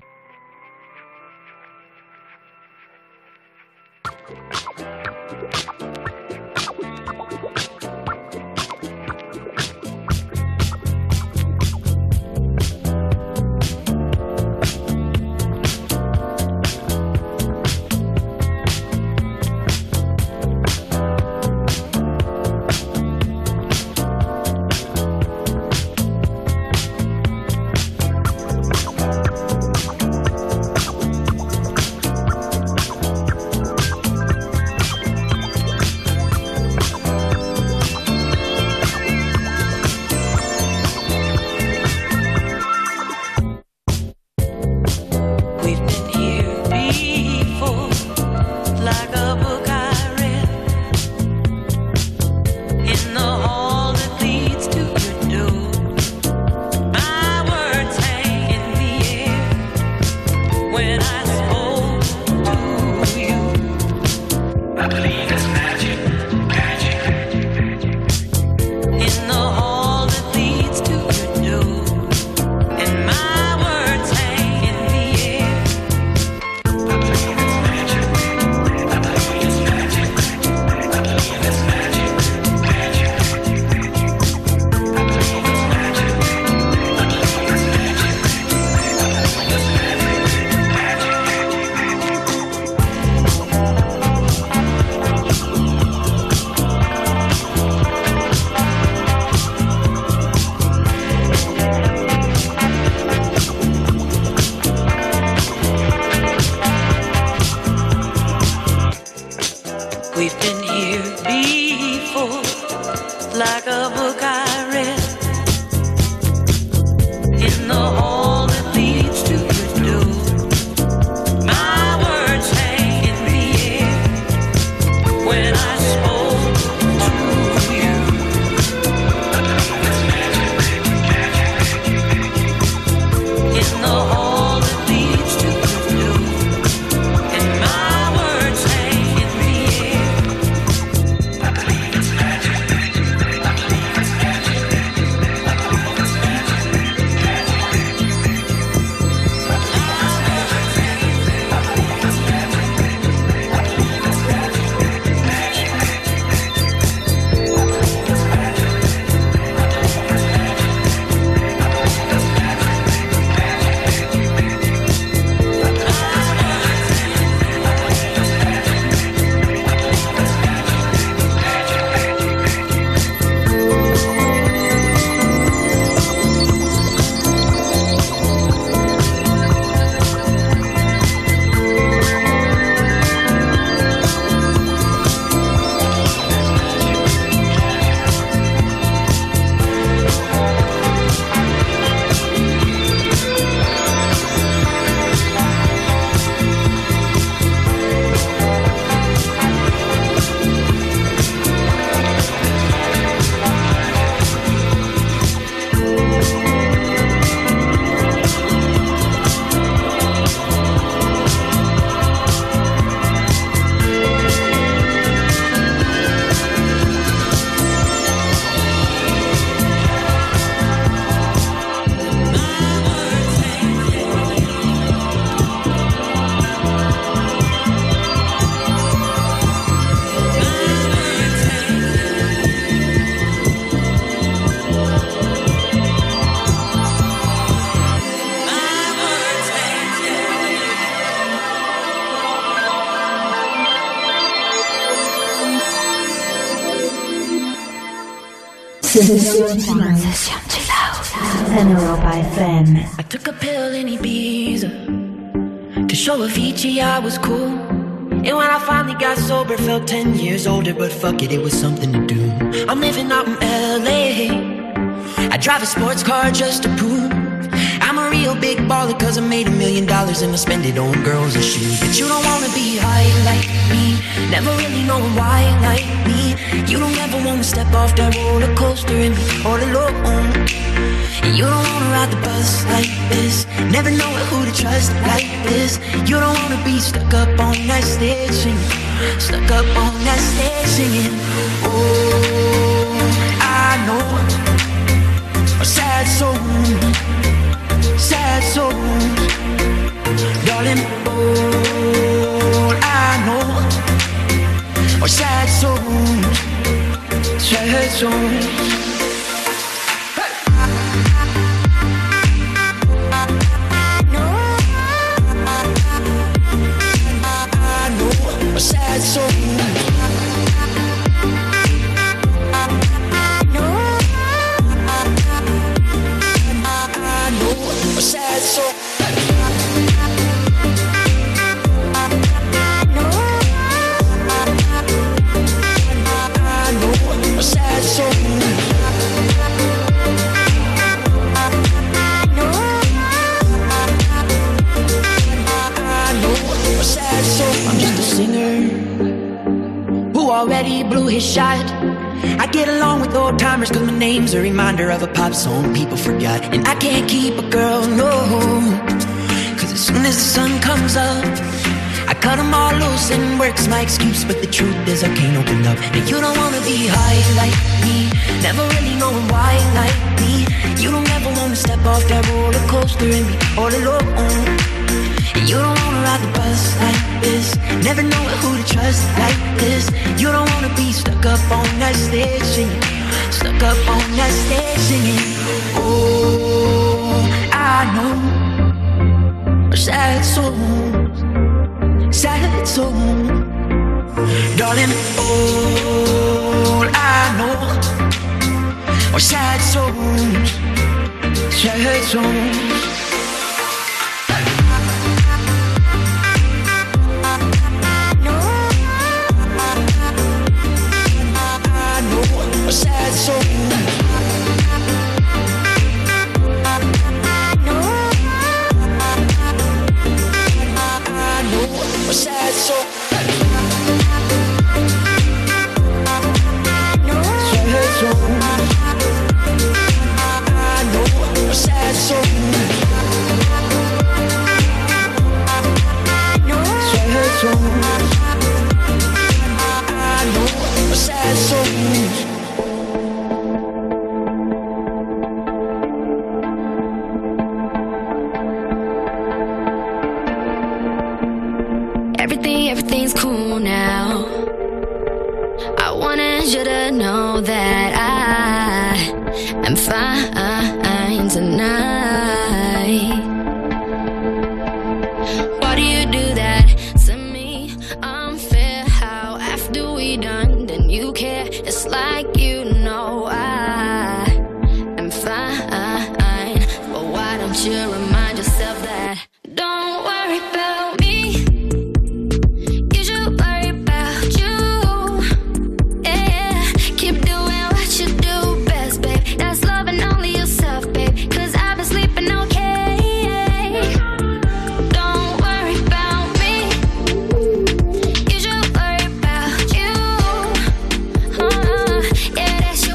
Sesión Chill Out en Europa F M. I took a pill in Ibiza to show Avicii I was cool. And when I finally got sober, felt ten years older. But fuck it, it was something to do. I'm living out in L A. I drive a sports car just to prove I'm a real real big baller cause I made a million dollars and I spend it on girls and shoes. But you don't wanna be high like me, never really know why like me. You don't ever wanna step off that roller coaster and be all alone. And you don't wanna ride the bus like this, never know who to trust like this. You don't wanna be stuck up on that stage singing, stuck up on that stage singing. Oh, I know a sad soul, sad soul, darling. All I know are sad souls, sad souls. A sad soul. I know a sad soul. I know a sad soul. I'm just a singer who already blew his shot. I get along with old timers cause my name's a reminder of a pop song people forgot. And I can't keep a girl, no, cause as soon as the sun comes up I cut them all loose and work's my excuse. But the truth is I can't open up. And you don't wanna be high like me, never really knowing why like me. You don't ever wanna step off that roller coaster and be all alone. You don't wanna ride the bus like this, never know who to trust like this. You don't wanna be stuck up on that stage singing, stuck up on that stage singing. Oh, I know sad souls, sad souls, darling. All I know are sad souls, sad souls. A sad soul. I know a sad soul. Sad soul. I know a sad soul. Sad soul. I know a sad soul. Everything's cool now. I wanted you to know that I am fine tonight. Why do you do that to me? Unfair how after we done, then you care. It's like you know I am fine. But why don't you remind yourself that? Don't worry about me. Yeah, that's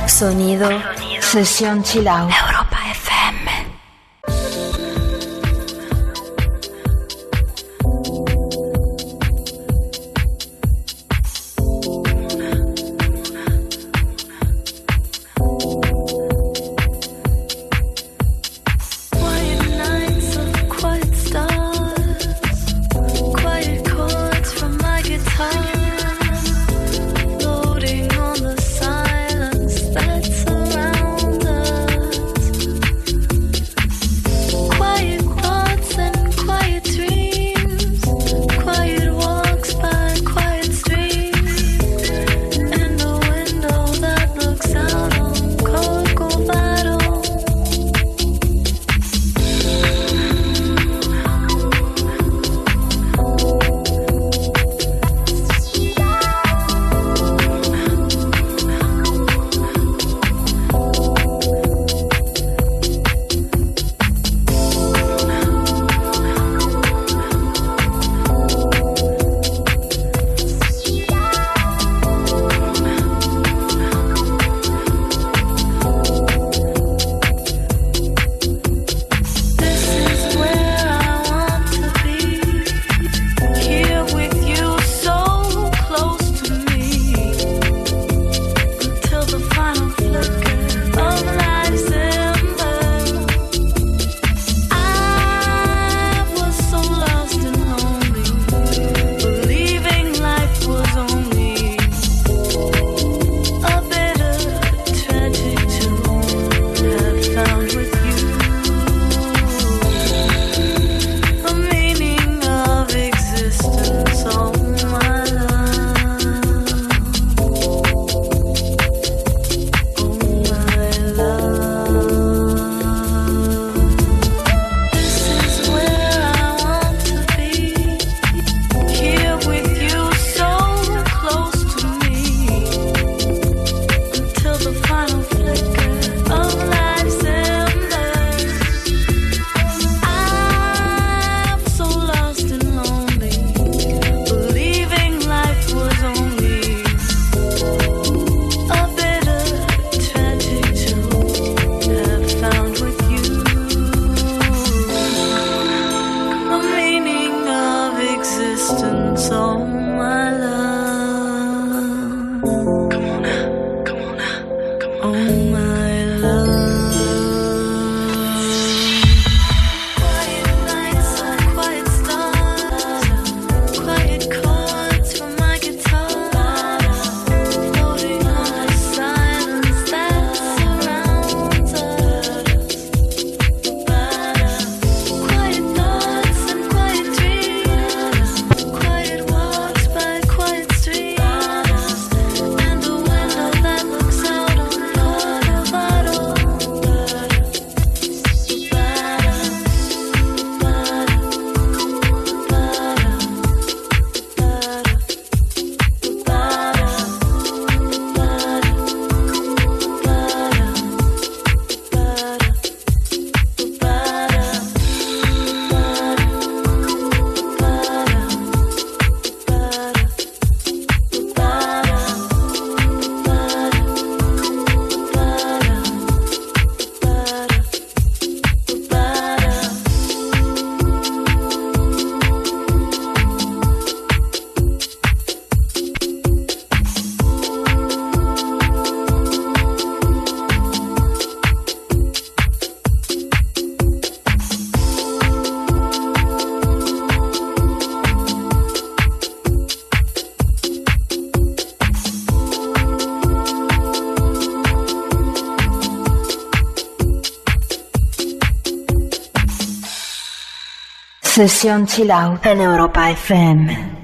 Sonido, sesión chill out. Europa F M. Sesión chill out en Europa F M.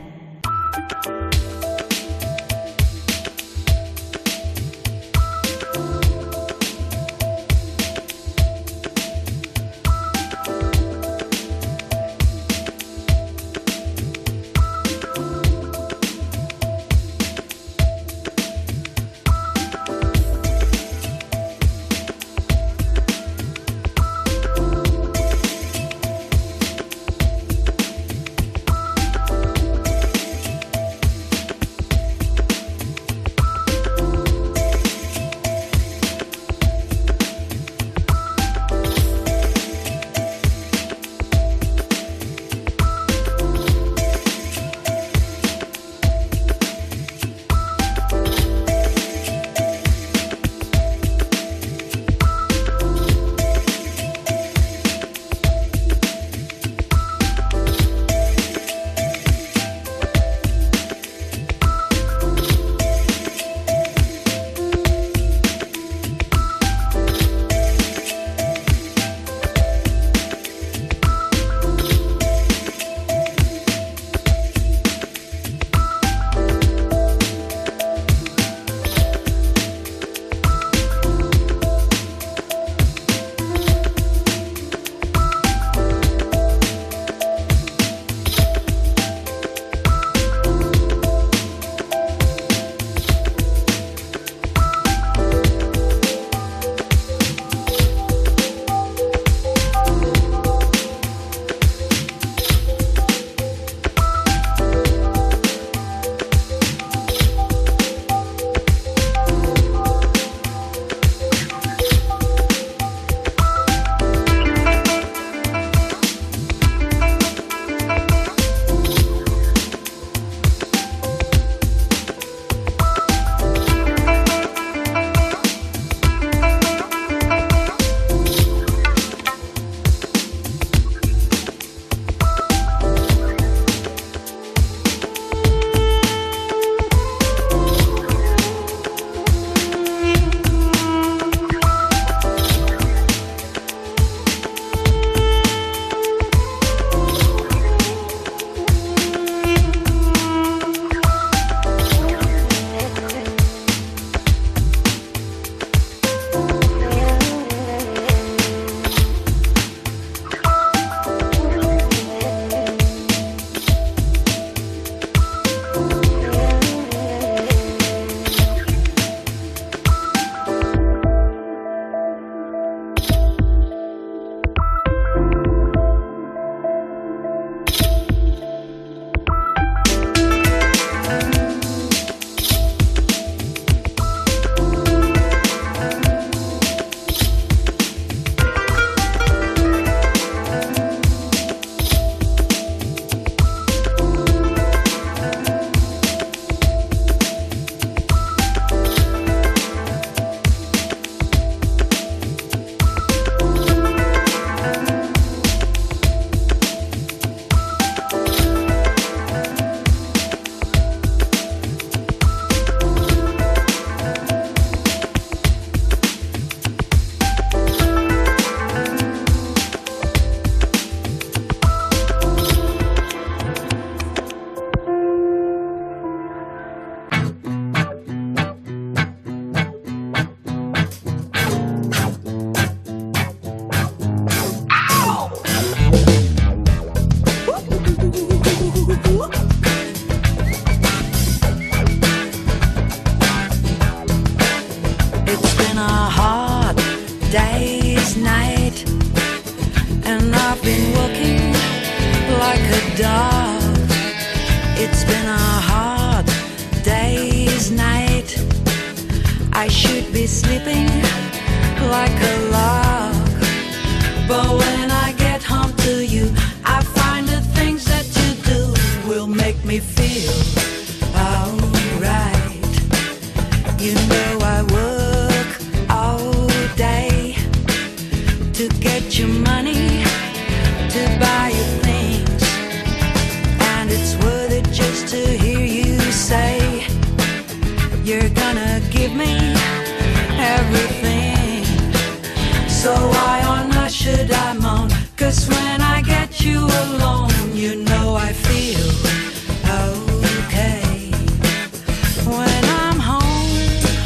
been a hard day's night, and I've been working like a dog. It's been a hard day's night. I should be sleeping like a log, but when I get home to you, I find the things that you do will make me feel alright. You know I work all day to get your money, to buy you things, and it's worth it just to hear you say you're gonna give me everything. So why on earth should I moan? 'Cause when I get you alone, you know I feel okay. When I'm home,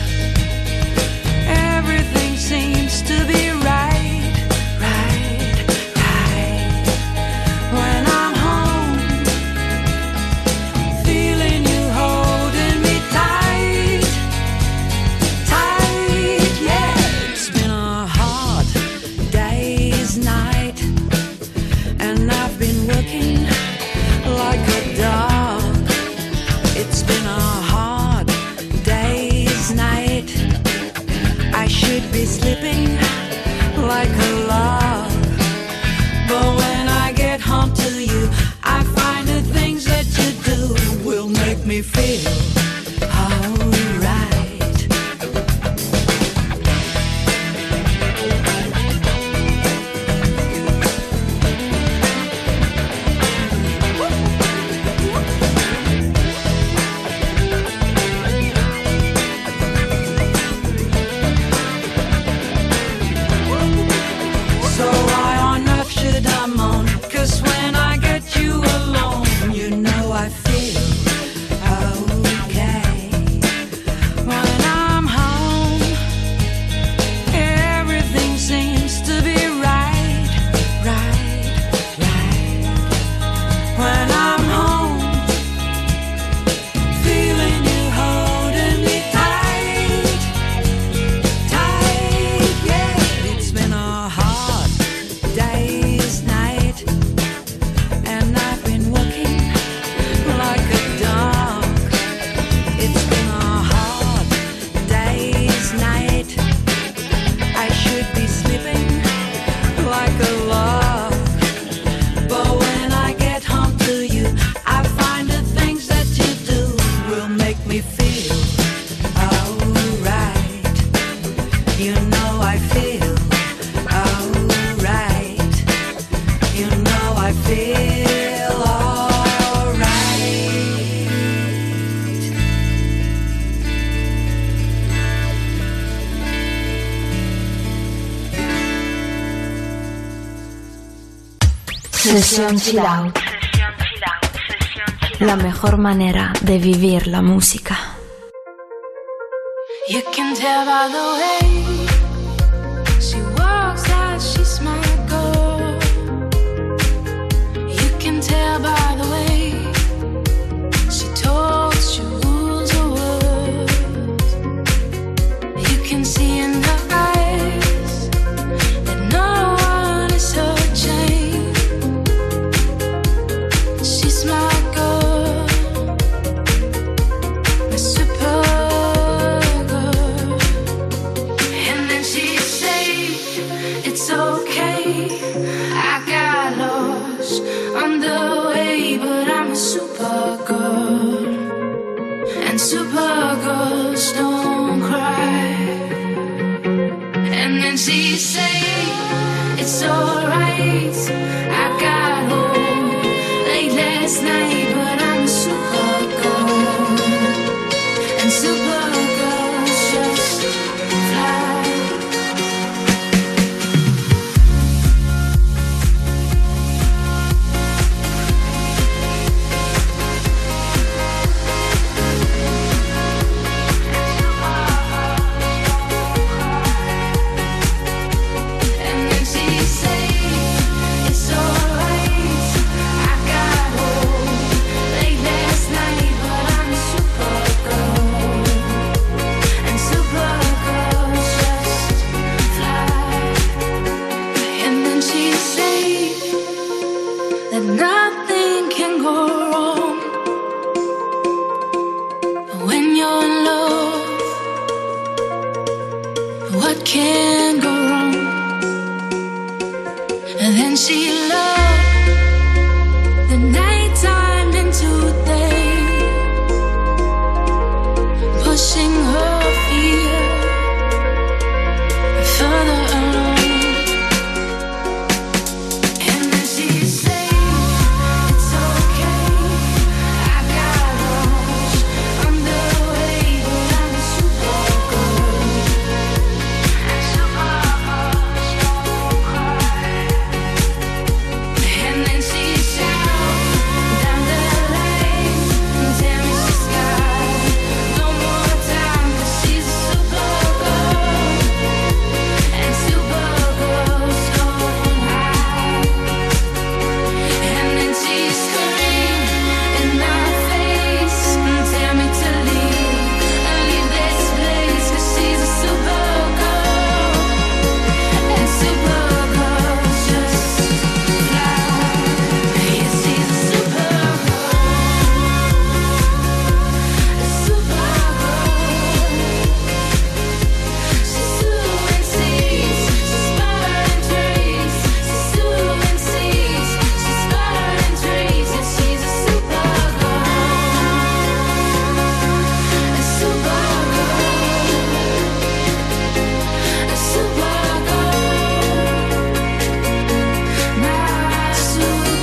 everything seems to be right, right, right. When I'm home, feeling you holding me tight, tight, yeah. It's been a hard day's night, and I've been working like a dog. It's been a hard day's night. I should be sleeping like a log, but when I get home to you, I find the things that you do will make me feel alright. So why on earth should I moan? 'Cause when I get you alone, you know I feel okay. When I'm home, everything seems to be right, right, right. When I'm home, feeling you holding me tight, tight, yeah. It's been a hard day's night, and I've been working like a dog. It's been a hard day's night. I should be sleeping like a log, but when I get home to you, I find the things that you do will make me feel alright. You know I feel alright. You know I feel alright. Sesión Chill Out. La mejor manera de vivir la música. You can tell by the way she walks out, she's my girl. You can tell by the way she talks, she rules her words. You can see in her eyes that no one is her chain. She's my girl, my super girl. And then she say it's okay, I got lost on the way, but I'm a super girl, and super girls don't cry. And then she say it's alright, I got home late last night, but I'm a super girl, and super girls just fly. And then she say it's what can go wrong? And then she loved the night turned into day, pushing her fear further along. And then she said, it's okay, I've got lunch underway, but I'm super good. And super good, don't cry. And then she shouted down the lane, tell me she's got no more time, 'cause she's a super girl. And super girls going high. And then she screamed in my face, tell me to leave, leave this place, 'cause she's a super girl. And super girls just fly. Yeah, she's a super girl. A super girl. She's doing seas, she's burning trees. She's doing seas, she's burning trees. And she's a super girl, a super girl, a super girl, my super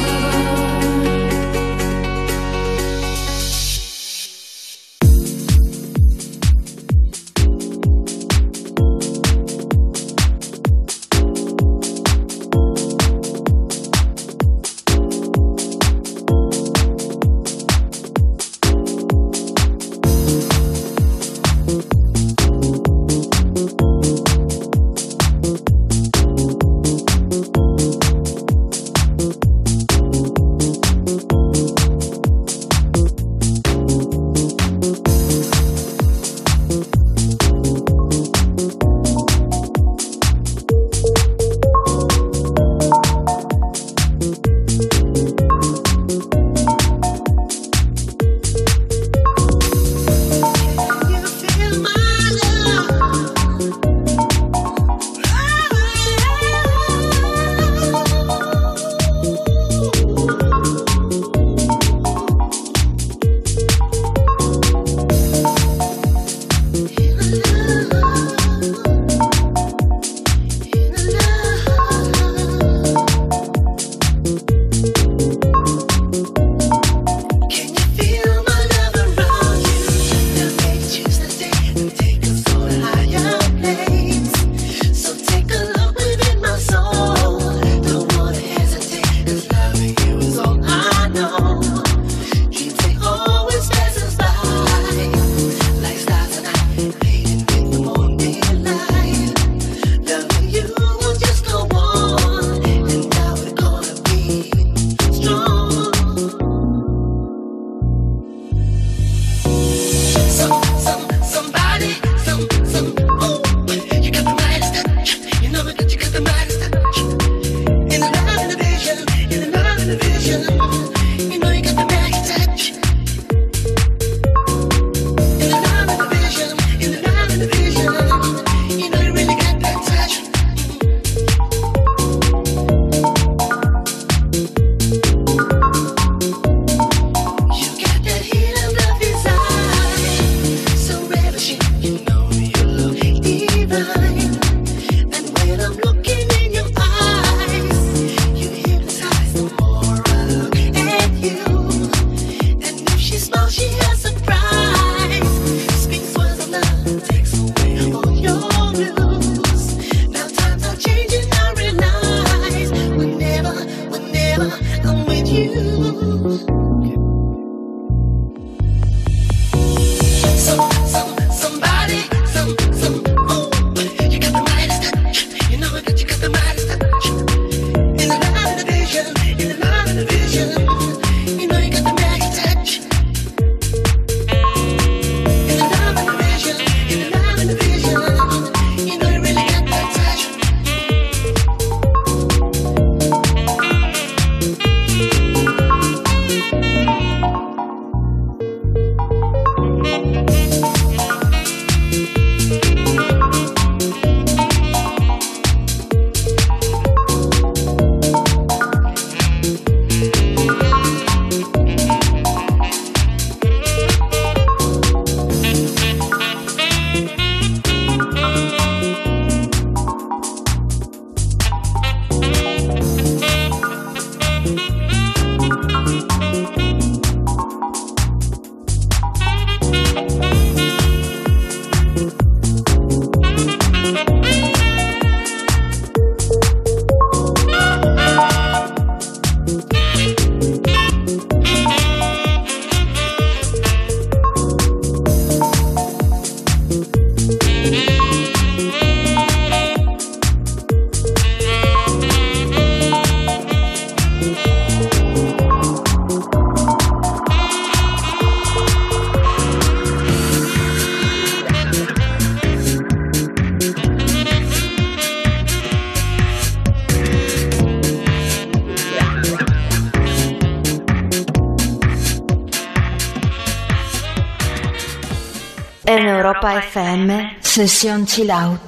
Europa F M, Sesión Chill Out.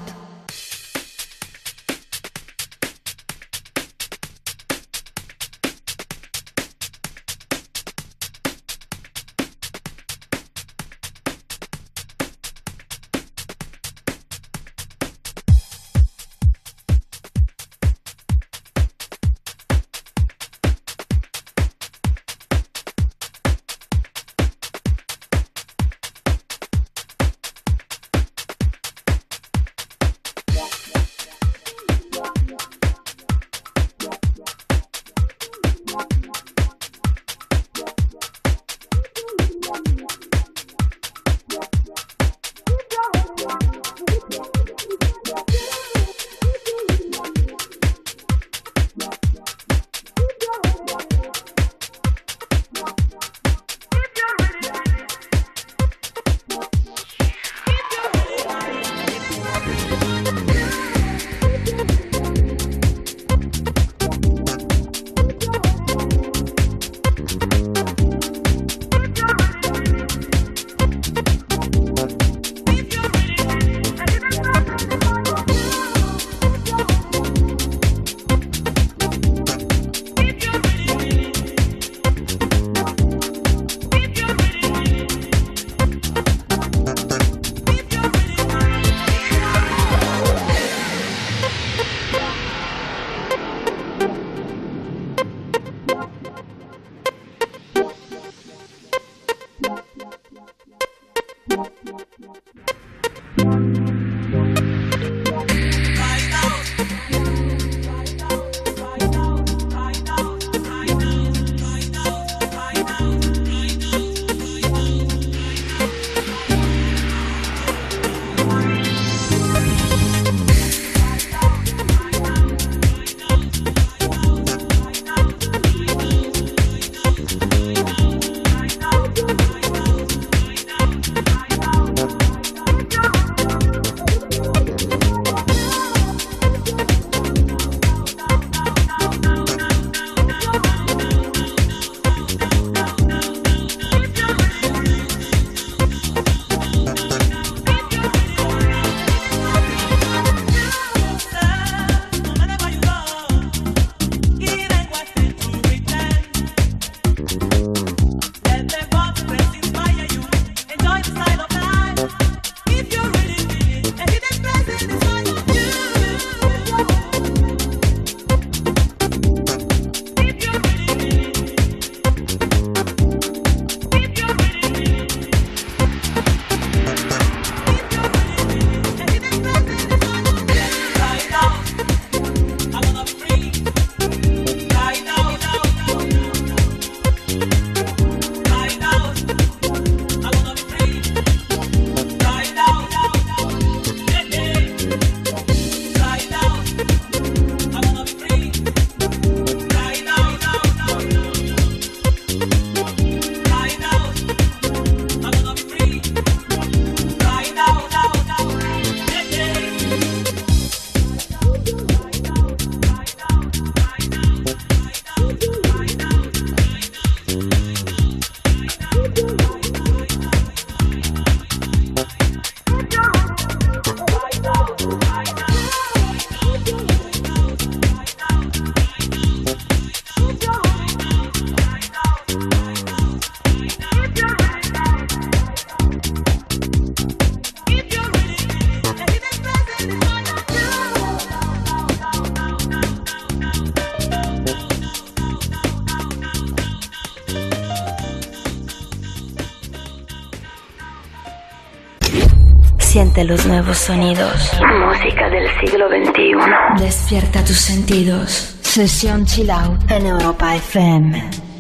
Siente los nuevos sonidos. Música del siglo veintiuno. Despierta tus sentidos. Sesión Chill Out en Europa F M.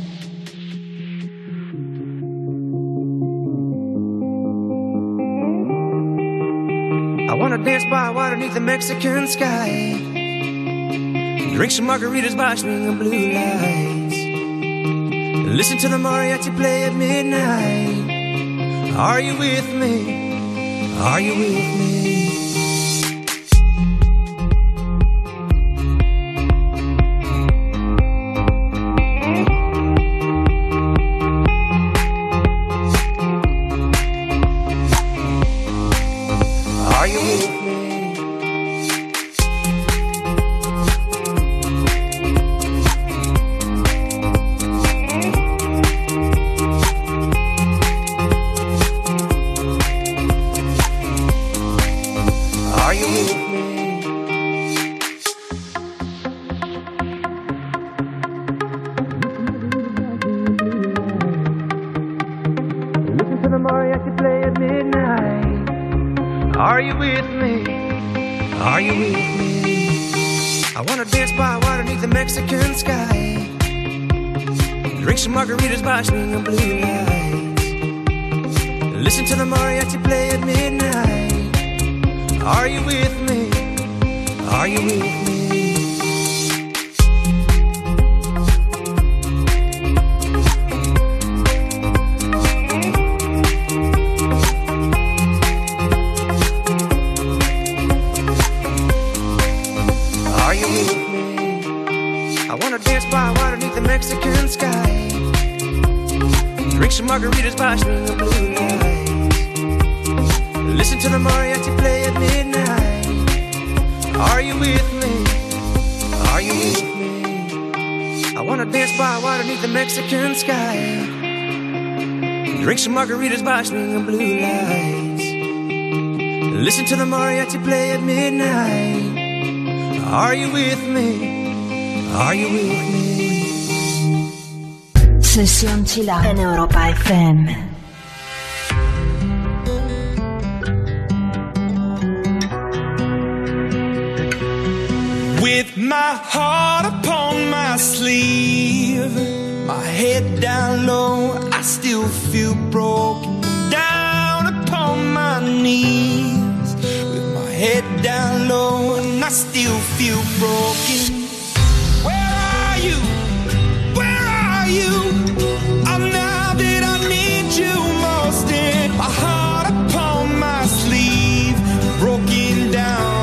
I wanna dance by water beneath the Mexican sky. Drink some margaritas by swinging blue lights. Listen to the mariachi play at midnight. Are you with me? Are you with me? Are you with me? I wanna dance by water beneath the Mexican sky. Drink some margaritas by swinging blue lights. Listen to the mariachi play at midnight. Are you with me? Are you with me? Are you with me? I wanna dance by water beneath the Mexican sky. Drink some margaritas by swinging blue lights. Listen to the mariachi play at midnight. Are you with me? Are you with me? I wanna dance by water beneath the Mexican sky. Drink some margaritas by swinging blue lights. Listen to the mariachi play at midnight. Are you with me? Are you with me? Sesión Chill Out en Europa F M. With my heart upon my sleeve, my head down low, I still feel broken. Down upon my knees, with my head down low, and I still feel broken. Where are you? Where are you? I'm now that I need you most. In my heart upon my sleeve, broken down.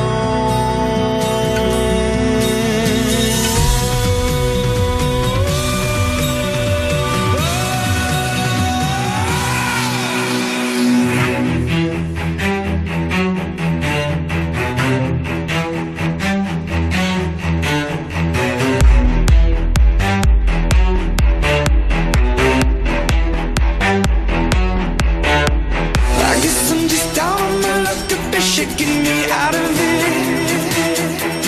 Shaking me out of it.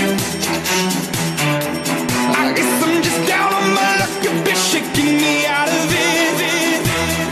I guess I'm just down on my luck. You've been shaking me out of it.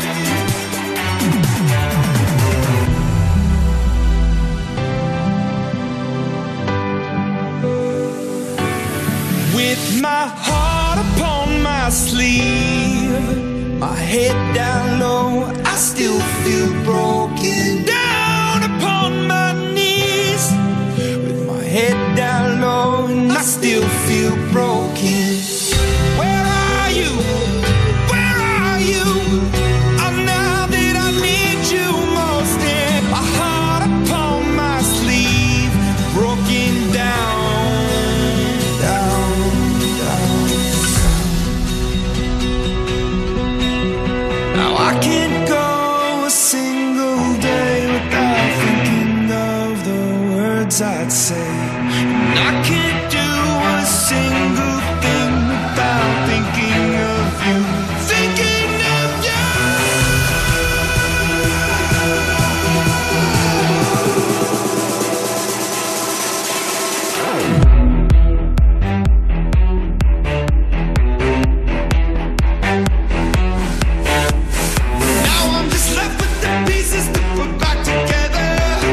With my heart upon my sleeve, my head down low, I still feel broken. Down upon my knees, with my head down low, and I still feel broken. Where are you? Where are you? I'm now that I need you most. In my heart upon my sleeve, broken down, down, down. Now I can't go a single day without thinking of the words I'd say. And I can't do a single thing without thinking of you. Thinking of you. Now I'm just left with the pieces to put back together.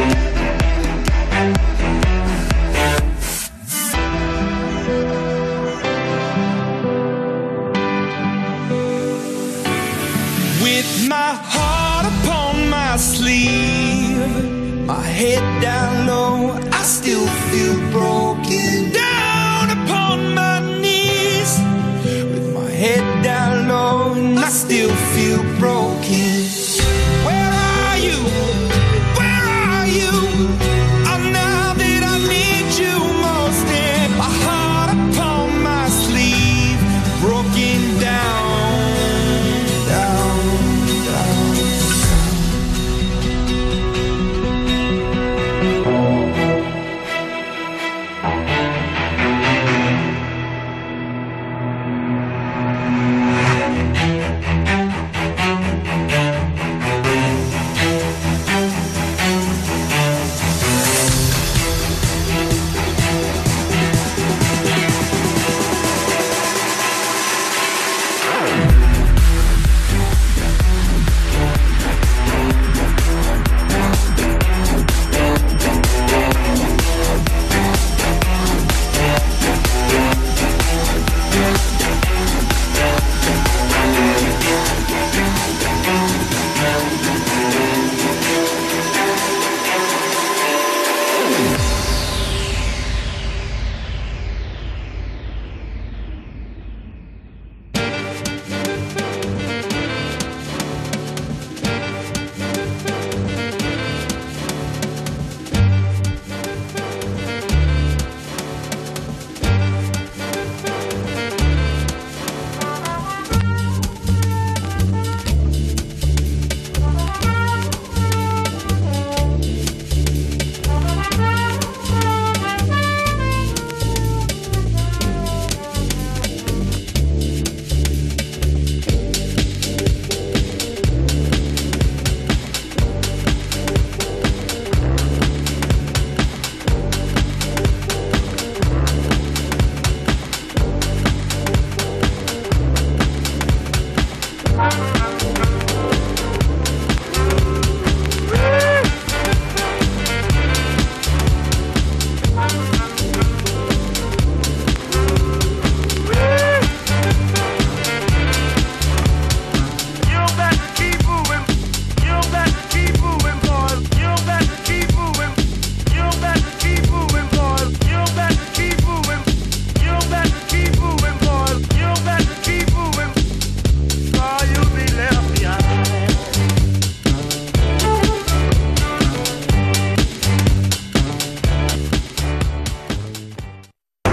With my heart upon my sleeve, my head down low, I still feel broken. Down upon my knees, with my head down low, and I still feel broken. Where are you? Where are you? I'm now that I need you most. In my heart upon my sleeve, broken down, down, down.